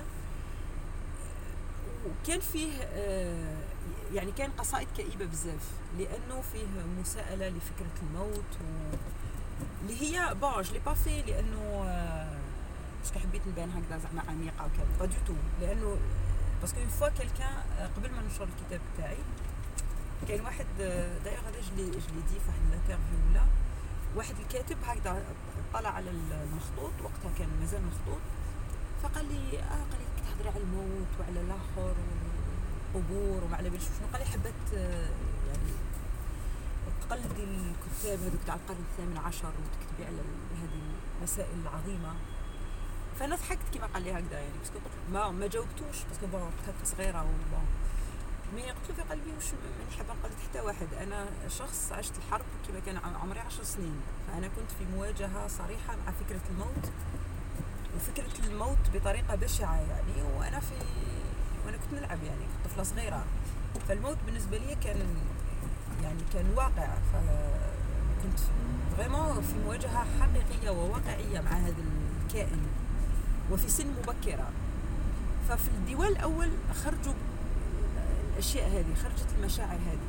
E: وكان فيه يعني كان قصائد كئيبة بزاف لأنه فيه مساءلة لفكرة الموت و... اللي هي بون جو لي با في لأنه باسكو حبيت نبان هكذا زعما عميقة وكذا با دو تو، لأنه باسكو اون فوا كيلكان قبل ما نشر الكتاب تاعي كاين واحد دايوغ هذا جلي جلي دي في واحد الانترفيو ولا واحد الكاتب هكذا طلع على المخطوط وقتها كان مازال مخطوط فقال لي اه قال لي تهضري على الموت وعلى الاخر والقبور وما على بالش شنو. قال لي حبت يعني تقلدي الكتاب هذوك تاع القرن الثامن عشر وتكتبي على هذه المسائل العظيمه. فانا ضحكت كيما قال لي هكذا يعني باسكو ما ما جاوبتوش باسكو بون وقتها كنت صغيره وبون مي قلت له في قلبي واش ماني حابه نقلد حتى واحد. انا شخص عشت الحرب كيما كان عمري عشر سنين، فانا كنت في مواجهه صريحه مع فكره الموت وفكره الموت بطريقه بشعه يعني وانا في وانا كنت نلعب يعني كنت طفله صغيره. فالموت بالنسبه لي كان يعني كان واقع، فكنت فريمون في مواجهه حقيقيه وواقعيه مع هذا الكائن وفي سن مبكره. ففي الديوان الاول خرجوا الاشياء هذه، خرجت المشاعر هذه.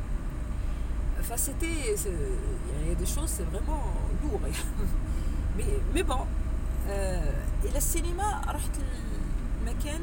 E: فسيتي يعني دي شوز سي فريمون لوغ مي مي بون الى السينما رحت المكان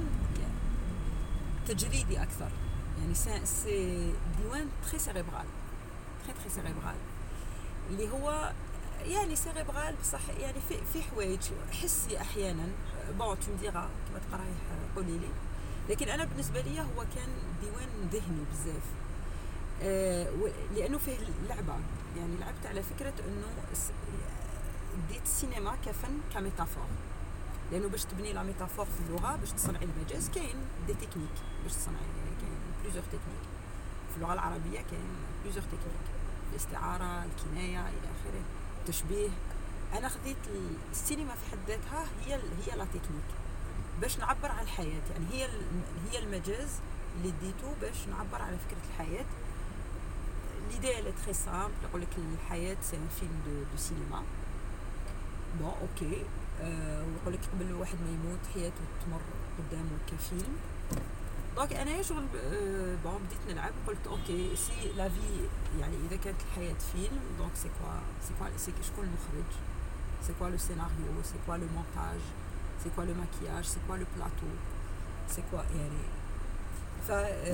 E: تجريدي اكثر يعني سي ديوان تري سيريبرال تري تري سيريبرال اللي هو يعني سيريبرال بصح يعني في في حوايج حسي احيانا بون تو مديرا كما تقرايه قولي لي، لكن انا بالنسبه لي هو كان ديوان ذهني بزاف آه لانه فيه لعبه يعني لعبت على فكره انه ديت السينما كفن كميتافور، لانه باش تبني لا ميتافور في اللغه باش تصنعي المجاز كاين دي تكنيك باش تصنعي كاين بليزيور تكنيك في اللغه العربيه كاين بليزيور تكنيك الاستعاره الكنايه الى اخره التشبيه. انا خديت السينما في حد ذاتها هي هي لا تكنيك باش نعبر عن الحياه يعني هي هي المجاز اللي ديتو باش نعبر على فكره الحياه. ليدي اللي تري سامبل يقول لك الحياه سي ان فيلم دو دو سينما بون اوكي أه ويقول لك قبل واحد ما يموت حياته تمر قدامه كفيلم. دونك انا شغل أه بون بديت نلعب قلت اوكي سي لا في يعني اذا كانت الحياه فيلم دونك سي كوا سي كوا سي شكون المخرج سي كوا لو سيناريو سي كوا لو مونتاج سي كوا لو ماكياج سي كوا لو بلاطو سي كوا يعني ف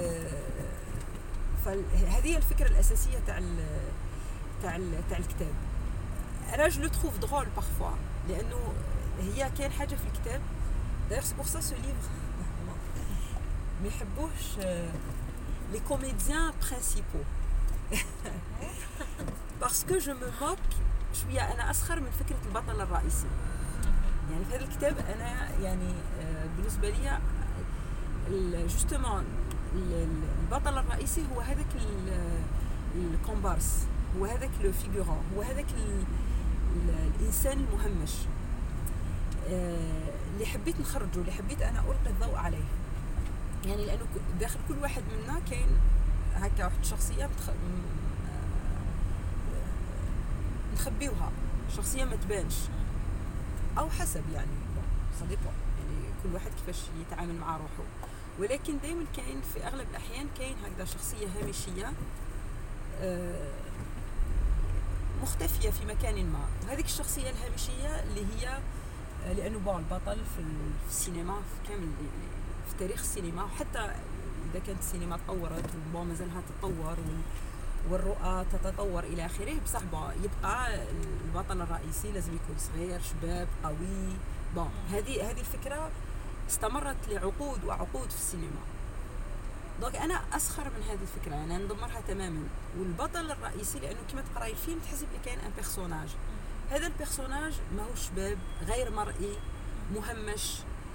E: فهذه الفكره الاساسيه تاع تاع تاع الكتاب. انا جو لو تروف درول بارفوا لانه هي كاين حاجه في الكتاب داير سي بور سا سو ليفر ما يحبوش لي كوميديان برينسيبو باسكو جو مو موك شويه انا اسخر من فكره البطل الرئيسي. يعني في هذا الكتاب انا يعني بالنسبه لي جوستومون البطل الرئيسي هو هذاك الكومبارس هو هذاك لو فيغورون هو هذاك الانسان المهمش اللي حبيت نخرجه اللي حبيت انا القي الضوء عليه يعني لانه داخل كل واحد منا كاين هكا واحد الشخصيه بتخ... نخبيوها شخصيه ما تبانش او حسب يعني صديقه يعني كل واحد كيفاش يتعامل مع روحه، ولكن دائما كاين في اغلب الاحيان كاين هكذا شخصيه هامشيه مختفيه في مكان ما. وهذيك الشخصيه الهامشيه اللي هي لانه بون البطل في السينما في كامل في تاريخ السينما وحتى اذا كانت السينما تطورت وبون مازالها تتطور والرؤى تتطور الى اخره، بصح يبقى البطل الرئيسي لازم يكون صغير شباب قوي. بون هذه هذه الفكره استمرت لعقود وعقود في السينما. دونك انا اسخر من هذه الفكره، يعني انا ندمرها تماما. والبطل الرئيسي لانه كما تقراي الفيلم تحس بلي كاين ان بيرسوناج، هذا البيرسوناج ماهوش شباب، غير مرئي، مهمش،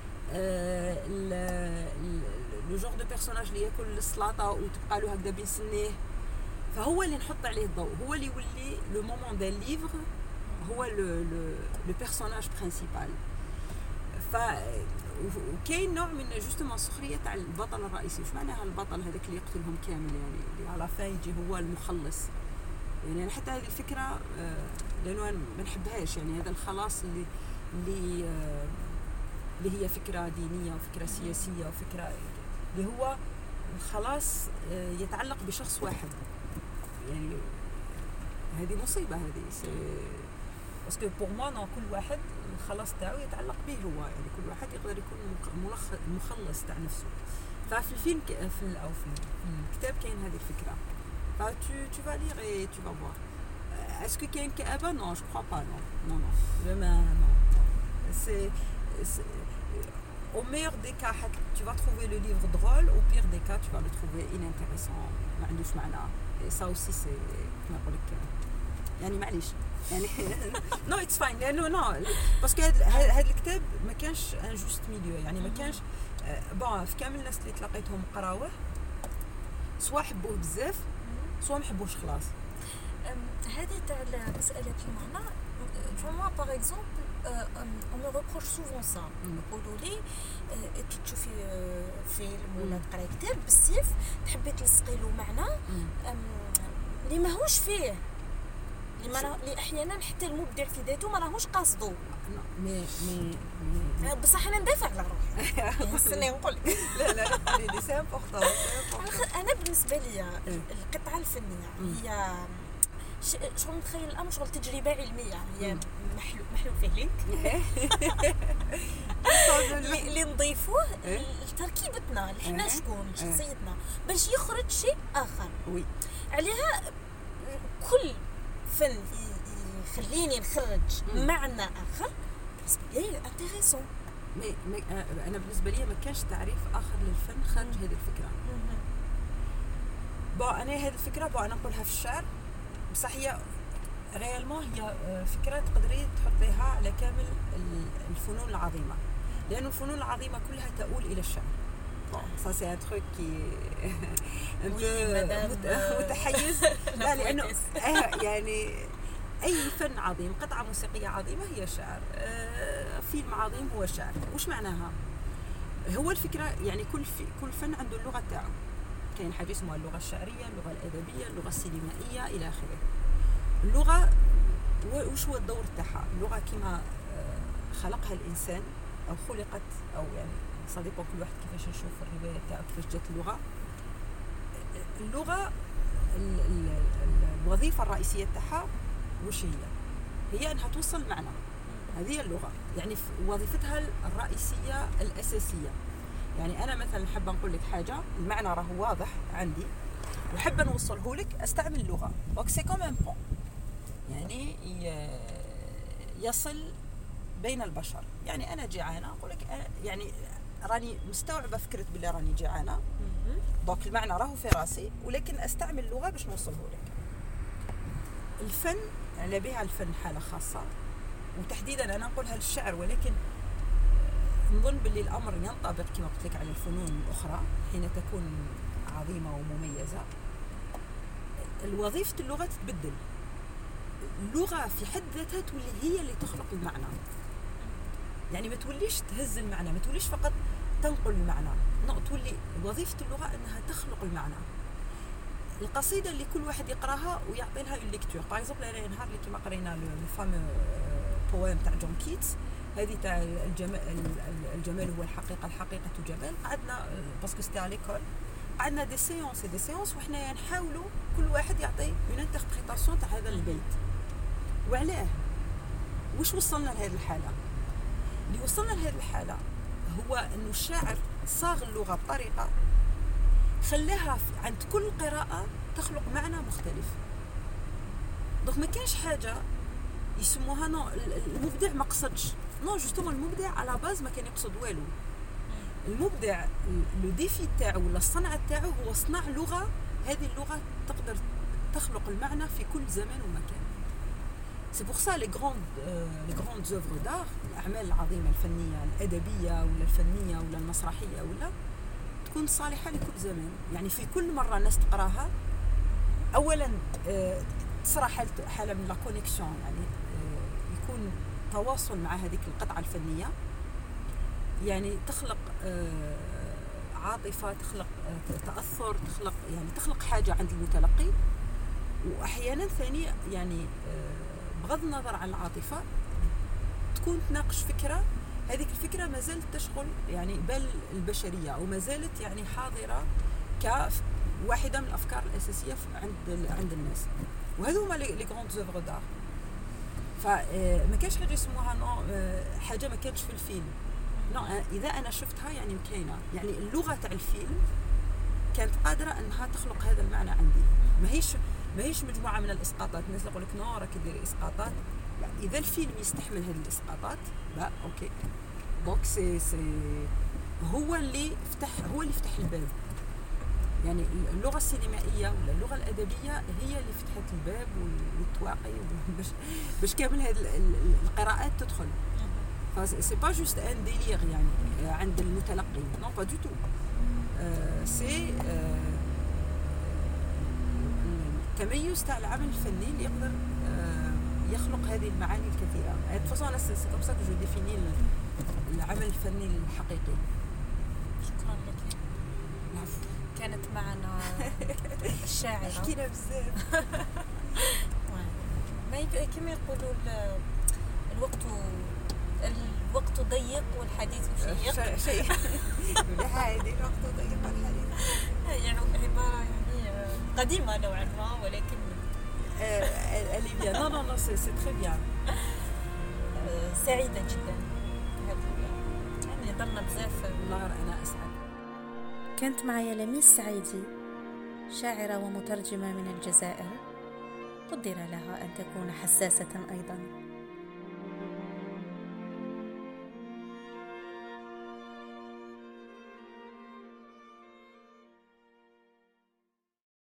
E: لو جور دو بيرسوناج اللي ياكل السلطه وتبقى له هكذا بين سنيه، فهو اللي نحط عليه الضوء، هو اللي يولي لو مومون دان ليفر هو لو لو لو بيرسوناج برينسيبال. ف وكاين نوع من جوستومون السخريه تاع البطل الرئيسي. واش معناها البطل هذاك اللي يقتلهم كامل، يعني اللي على فا يجي هو المخلص؟ يعني انا حتى هذه الفكره لانه ما نحبهاش، يعني هذا الخلاص اللي اللي اللي هي فكره دينيه وفكره سياسيه وفكره اللي هو الخلاص يتعلق بشخص واحد. يعني هذه مصيبه، هذه باسكو بور موا نو كل واحد الخلاص تاعو يتعلق به هو، يعني كل واحد يقدر يكون مخلص تاع نفسه. ففي الفيلم في او في الكتاب كاين هذه الفكره. ف tu tu vas lire et tu vas voir. Est-ce que كاين كآبة؟ non je crois pas, non non non vraiment non. c'est, c'est au meilleur des cas tu vas trouver le livre drôle, au pire des cas tu vas le trouver inintéressant ما عندوش معنى. et ça aussi c'est كما نقول لك يعني معليش يعني نو اتس فاين، لانه نو باسكو هذا الكتاب ما كانش ان جوست ميليو، يعني ما كانش بون في كامل الناس اللي تلاقيتهم قراوه سوا حبوه بزاف سوا ما حبوش خلاص.
D: هذه تاع مساله المعنى فما باغ اكزومبل on me reproche souvent ça. يقولوا لي كي تشوفي فيلم ولا تقراي كتاب بالسيف تحبي تلصقي له معنى اللي ماهوش فيه، اللي احيانا حتى المبدع في ذاته ما راهوش قاصدو.
E: مي مي
D: بصح انا ندافع على روحي استني نقول لك
E: لا لا لي سي امبورطون.
D: انا بالنسبه لي القطعه الفنيه هي شغل متخيل الامر شغل تجربه علميه، هي محلو محلو فيه لينك اللي نضيفوه لتركيبتنا اللي حنا شكون شخصيتنا باش يخرج شيء اخر.
E: وي
D: عليها كل فن يخليني نخرج معنى اخر بس بيان انتريسون.
E: مي انا بالنسبه لي ما كانش تعريف اخر للفن خارج هذه الفكره. بون انا هذه الفكره بون انا نقولها في الشعر، بصح هي ريالمون هي فكره تقدري تحطيها على كامل الفنون العظيمه، لأن الفنون العظيمه كلها تؤول الى الشعر. ça c'est un truc qui un peu متحيز. لا لانه يعني اي فن عظيم، قطعه موسيقيه عظيمه هي شعر، فيلم عظيم هو شعر. وش معناها؟ هو الفكره يعني كل في كل فن عنده اللغه تاعو. كاين حاجه اسمها اللغه الشعريه، اللغه الادبيه، اللغه السينمائيه الى اخره. اللغه وش هو الدور تاعها؟ اللغه كما خلقها الانسان او خلقت او يعني صديق كل واحد كيفاش نشوف الروايه تاعو كيفاش جات اللغه. اللغه الوظيفه الرئيسيه تاعها وش هي؟ هي انها توصل معنى. هذه اللغه يعني وظيفتها الرئيسيه الاساسيه. يعني انا مثلا حابه نقول لك حاجه المعنى راه واضح عندي وحابه نوصله لك استعمل اللغه. دونك سي كوم ان بون يعني يصل بين البشر. يعني انا جيعانه اقول لك يعني راني مستوعبه فكره بلي راني جيعانه، دونك المعنى راهو في راسي ولكن استعمل اللغه باش نوصله لك. الفن على بها الفن حاله خاصه، وتحديدا انا نقولها للشعر، ولكن نظن باللي الامر ينطبق كما قلت لك على الفنون الاخرى حين تكون عظيمه ومميزه. الوظيفه اللغه تتبدل. اللغه في حد ذاتها تولي هي اللي تخلق المعنى. يعني ما توليش تهز المعنى، ما توليش فقط تنقل المعنى، لا تولي وظيفه اللغه انها تخلق المعنى. القصيده اللي كل واحد يقراها ويعطي لها اون ليكتور، باغ اكزومبل انا نهار اللي كيما قرينا لو فامو بويم تاع جون كيتس هذه تاع الجمال الجمال هو الحقيقه الحقيقه جمال، قعدنا باسكو ستي على ليكول قعدنا دي سيونس دي سيونس وحنا نحاولوا كل واحد يعطي اون انتربريتاسيون تاع هذا البيت. وعلاه واش وصلنا لهذه الحاله؟ اللي وصلنا لهذه الحاله هو انه الشاعر صاغ اللغه بطريقه
C: خلاها في- عند كل قراءة تخلق معنى مختلف. دونك ما كانش حاجة يسموها نو المبدع ما قصدش، نو جوستومون المبدع على باز ما كان يقصد والو. المبدع لو ديفي تاعو ولا الصنعة تاعو هو صنع لغة، هذه اللغة تقدر تخلق المعنى في كل زمان ومكان. سي بور سا لي غروند لي غروند زوفر دار، الاعمال العظيمه الفنيه الادبيه ولا الفنيه ولا المسرحيه ولا تكون صالحه لكل زمان. يعني في كل مره الناس تقراها اولا آه، تصرى حاله حاله من لا كونيكسيون، يعني آه، يكون تواصل مع هذيك القطعه الفنيه، يعني تخلق آه، عاطفه، تخلق آه، تاثر، تخلق يعني تخلق حاجه عند المتلقي. واحيانا ثاني يعني آه، بغض النظر عن العاطفه تكون تناقش فكره، هذيك الفكره ما زالت تشغل يعني بال البشريه، او ما زالت يعني حاضره كواحده من الافكار الاساسيه عند عند الناس. وهذو هما لي غروند زوفر دار. فما كانش حاجه يسموها نو حاجه ما كانتش في الفيلم، نو اذا انا شفتها يعني كاينه، يعني اللغه تاع الفيلم كانت قادره انها تخلق هذا المعنى عندي. ما هيش ما هيش مجموعه من الاسقاطات. الناس يقول لك نو راك ديري اسقاطات، لا، اذا الفيلم يستحمل هذه الاسقاطات لا اوكي. دونك سي سي هو اللي فتح هو اللي فتح الباب. يعني اللغه السينمائيه ولا اللغه الادبيه هي اللي فتحت الباب والتواقي باش باش كامل هذه القراءات تدخل. سي با جوست ان ديلير يعني عند المتلقي، نو با دو تو. سي التميز تاع العمل الفني اللي يقدر يخلق هذه المعاني الكثيره. de toute façon انا سي كوم سا كو جو ديفيني العمل الفني الحقيقي.
D: شكرا لك.
C: العفو.
D: كانت معنا الشاعرة
C: حكينا بزاف.
D: ما يك- كما يقولوا ال- الوقت الوقت ضيق والحديث شيق.
C: شيء ولا هذه الوقت ضيق الحديث.
D: يعني عبارة يعني قديمة نوعا ما، ولكن
C: elle est bien. Non, non, non, c'est, c'est très bien.
D: سعيدة جدا. يعني ضلنا بزاف.
C: والله أنا أسعد.
A: كانت معي لميس سعيدي، شاعرة ومترجمة من الجزائر، قدر لها أن تكون حساسة أيضا.